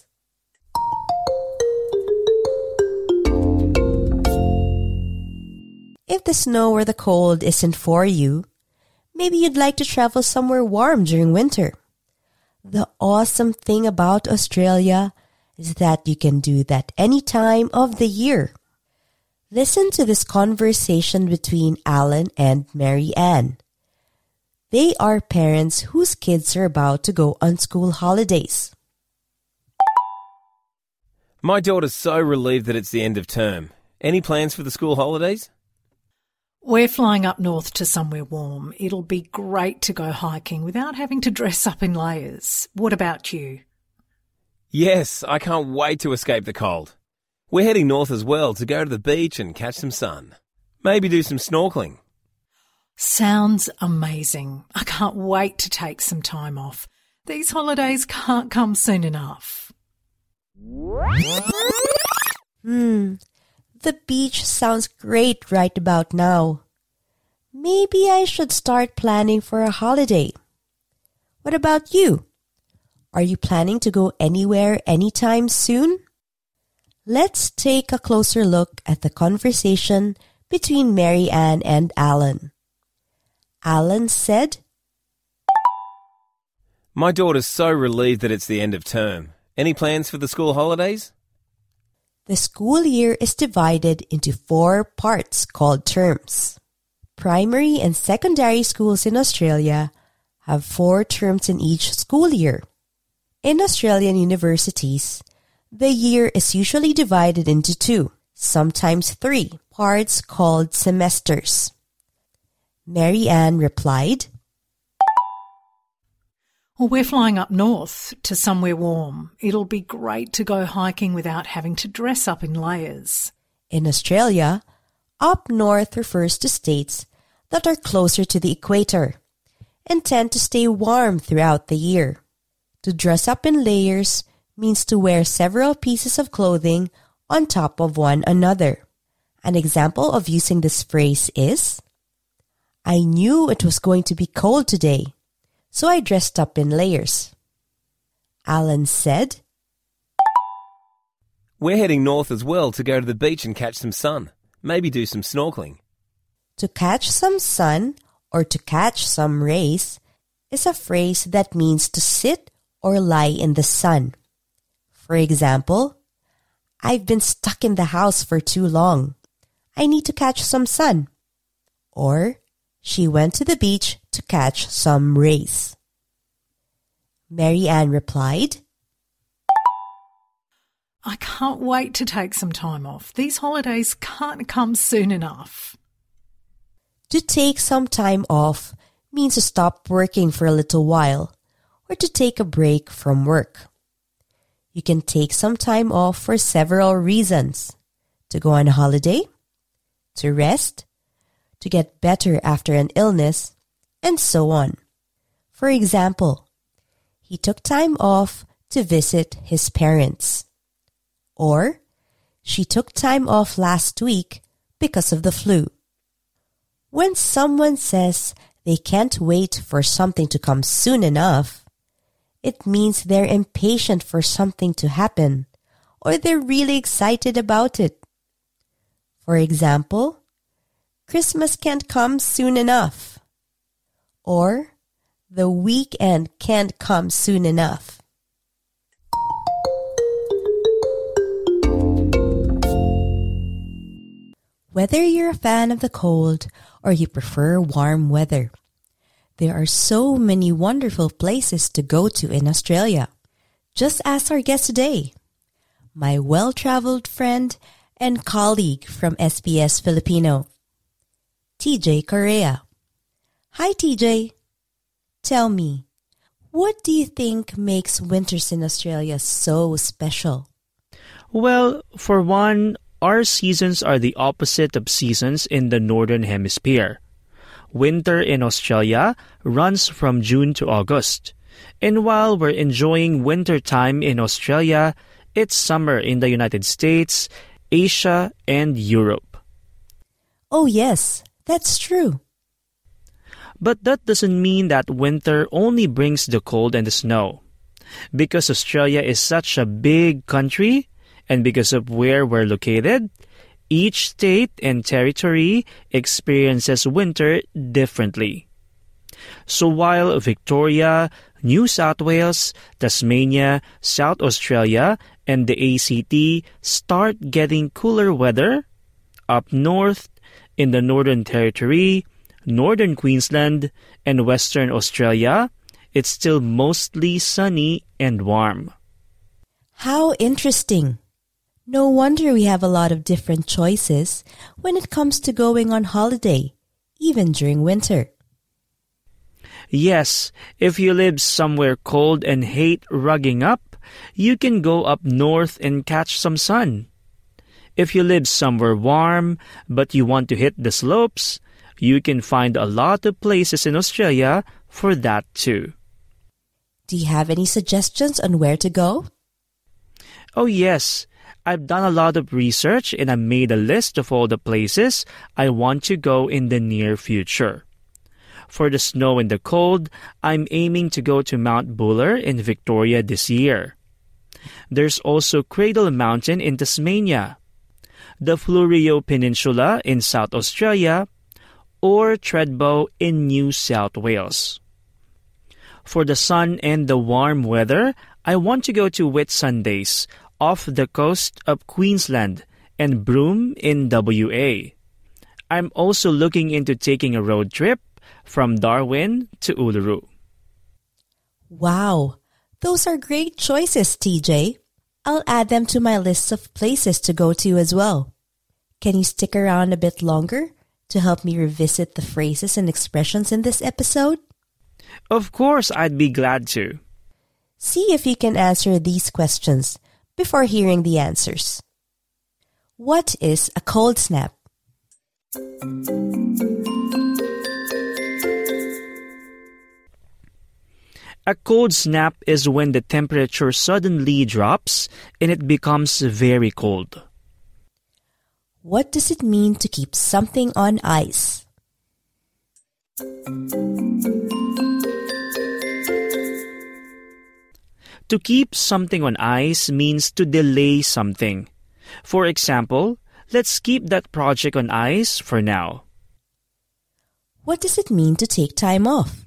If the snow or the cold isn't for you, maybe you'd like to travel somewhere warm during winter. The awesome thing about Australia is that you can do that any time of the year. Listen to this conversation between Alan and Marianne. They are parents whose kids are about to go on school holidays. My daughter's so relieved that it's the end of term. Any plans for the school holidays? We're flying up north to somewhere warm. It'll be great to go hiking without having to dress up in layers. What about you? Yes, I can't wait to escape the cold. We're heading north as well to go to the beach and catch some sun. Maybe do some snorkeling. Sounds amazing. I can't wait to take some time off. These holidays can't come soon enough. Hmm. The beach sounds great right about now. Maybe I should start planning for a holiday. What about you? Are you planning to go anywhere anytime soon? Let's take a closer look at the conversation between Mary Ann and Alan. Alan said, My daughter's so relieved that it's the end of term. Any plans for the school holidays? The school year is divided into four parts called terms. Primary and secondary schools in Australia have four terms in each school year. In Australian universities, the year is usually divided into two, sometimes three, parts called semesters. Mary Ann replied, Well, we're flying up north to somewhere warm. It'll be great to go hiking without having to dress up in layers. In Australia, up north refers to states that are closer to the equator and tend to stay warm throughout the year. To dress up in layers means to wear several pieces of clothing on top of one another. An example of using this phrase is, I knew it was going to be cold today, so I dressed up in layers. Alan said, We're heading north as well to go to the beach and catch some sun. Maybe do some snorkeling. To catch some sun or to catch some rays is a phrase that means to sit or lie in the sun. For example, I've been stuck in the house for too long. I need to catch some sun. Or, she went to the beach to catch some rays. Mary Ann replied, I can't wait to take some time off. These holidays can't come soon enough. To take some time off means to stop working for a little while or to take a break from work. You can take some time off for several reasons. To go on holiday, to rest, to get better after an illness, and so on. For example, he took time off to visit his parents. Or, she took time off last week because of the flu. When someone says they can't wait for something to come soon enough, it means they're impatient for something to happen, or they're really excited about it. For example, Christmas can't come soon enough, or the weekend can't come soon enough. Whether you're a fan of the cold or you prefer warm weather, there are so many wonderful places to go to in Australia. Just ask our guest today, my well-traveled friend and colleague from S B S Filipino, T J Correa. Hi, T J. Tell me, what do you think makes winters in Australia so special? Well, for one, our seasons are the opposite of seasons in the Northern Hemisphere. Winter in Australia runs from June to August. And while we're enjoying winter time in Australia, it's summer in the United States, Asia, and Europe. Oh yes, that's true. But that doesn't mean that winter only brings the cold and the snow. Because Australia is such a big country, and because of where we're located, each state and territory experiences winter differently. So while Victoria, New South Wales, Tasmania, South Australia, and the A C T start getting cooler weather, up north, in the Northern Territory, Northern Queensland, and Western Australia, it's still mostly sunny and warm. How interesting! No wonder we have a lot of different choices when it comes to going on holiday, even during winter. Yes, if you live somewhere cold and hate rugging up, you can go up north and catch some sun. If you live somewhere warm but you want to hit the slopes, you can find a lot of places in Australia for that too. Do you have any suggestions on where to go? Oh yes, I've done a lot of research and I made a list of all the places I want to go in the near future. For the snow and the cold, I'm aiming to go to Mount Buller in Victoria this year. There's also Cradle Mountain in Tasmania, the Fleurieu Peninsula in South Australia, or Thredbo in New South Wales. For the sun and the warm weather, I want to go to Whitsundays off the coast of Queensland and Broome in W A. I'm also looking into taking a road trip from Darwin to Uluru. Wow, those are great choices, T J. I'll add them to my list of places to go to as well. Can you stick around a bit longer to help me revisit the phrases and expressions in this episode? Of course, I'd be glad to. See if you can answer these questions before hearing the answers. What is a cold snap? A cold snap is when the temperature suddenly drops and it becomes very cold. What does it mean to keep something on ice? To keep something on ice means to delay something. For example, let's keep that project on ice for now. What does it mean to take time off?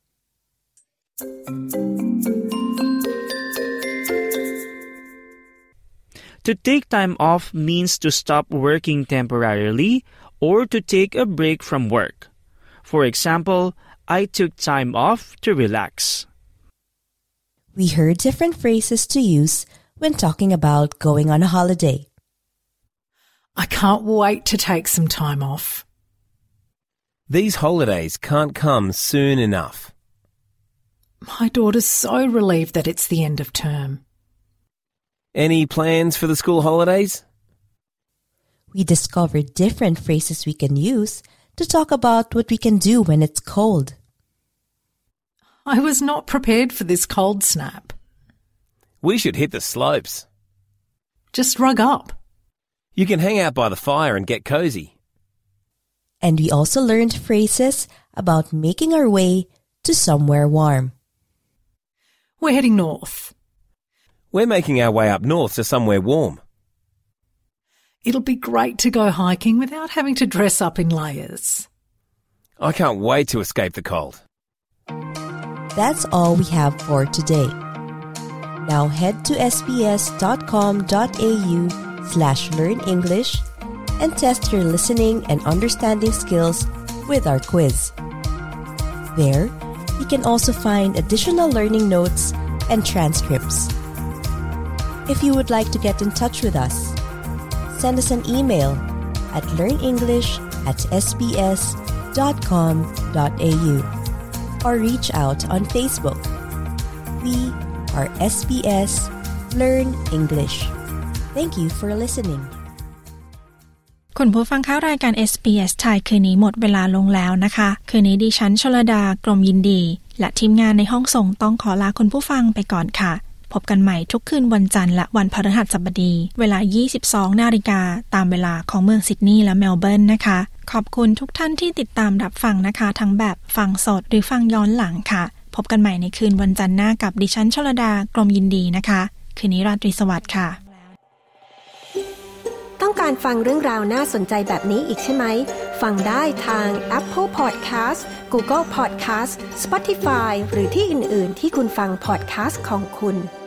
To take time off means to stop working temporarily or to take a break from work. For example, I took time off to relax. We heard different phrases to use when talking about going on a holiday. I can't wait to take some time off. These holidays can't come soon enough. My daughter's so relieved that it's the end of term. Any plans for the school holidays? We discovered different phrases we can use to talk about what we can do when it's cold. I was not prepared for this cold snap. We should hit the slopes. Just rug up. You can hang out by the fire and get cozy. And we also learned phrases about making our way to somewhere warm. We're heading north. We're making our way up north to somewhere warm. It'll be great to go hiking without having to dress up in layers. I can't wait to escape the cold. That's all we have for today. Now head to sbs.com.au slash learn English and test your listening and understanding skills with our quiz. There, you can also find additional learning notes and transcripts. If you would like to get in touch with us, send us an email at learnenglish at sbs.com.au or reach out on Facebook. We are S B S Learn English. Thank you for listening. คุณผู้ฟังคะรายการ เอส บี เอส ไทยคืนนี้หมดเวลาลงแล้วนะคะคืนนี้ดิฉันชลดากรมยินดีและทีมงานในห้องส่งต้องขอลาคุณผู้ฟังไปก่อนค่ะพบกันใหม่ทุกคืนวันจันทร์และวันพฤหัสบดีเวลา ยี่สิบสองนาฬิกาตามเวลาของเมืองซิดนีย์และเมลเบิร์นนะคะขอบคุณทุกท่านที่ติดตามรับฟังนะคะทั้งแบบฟังสดหรือฟังย้อนหลังค่ะพบกันใหม่ในคืนวันจันทร์หน้ากับดิฉันชลดากรมยินดีนะคะคืนนี้ราตรีสวัสดิ์ค่ะต้องการฟังเรื่องราวน่าสนใจแบบนี้อีกใช่ไหมฟังได้ทาง Apple Podcast Google Podcast Spotify หรือที่อื่นๆที่คุณฟัง podcast ของคุณ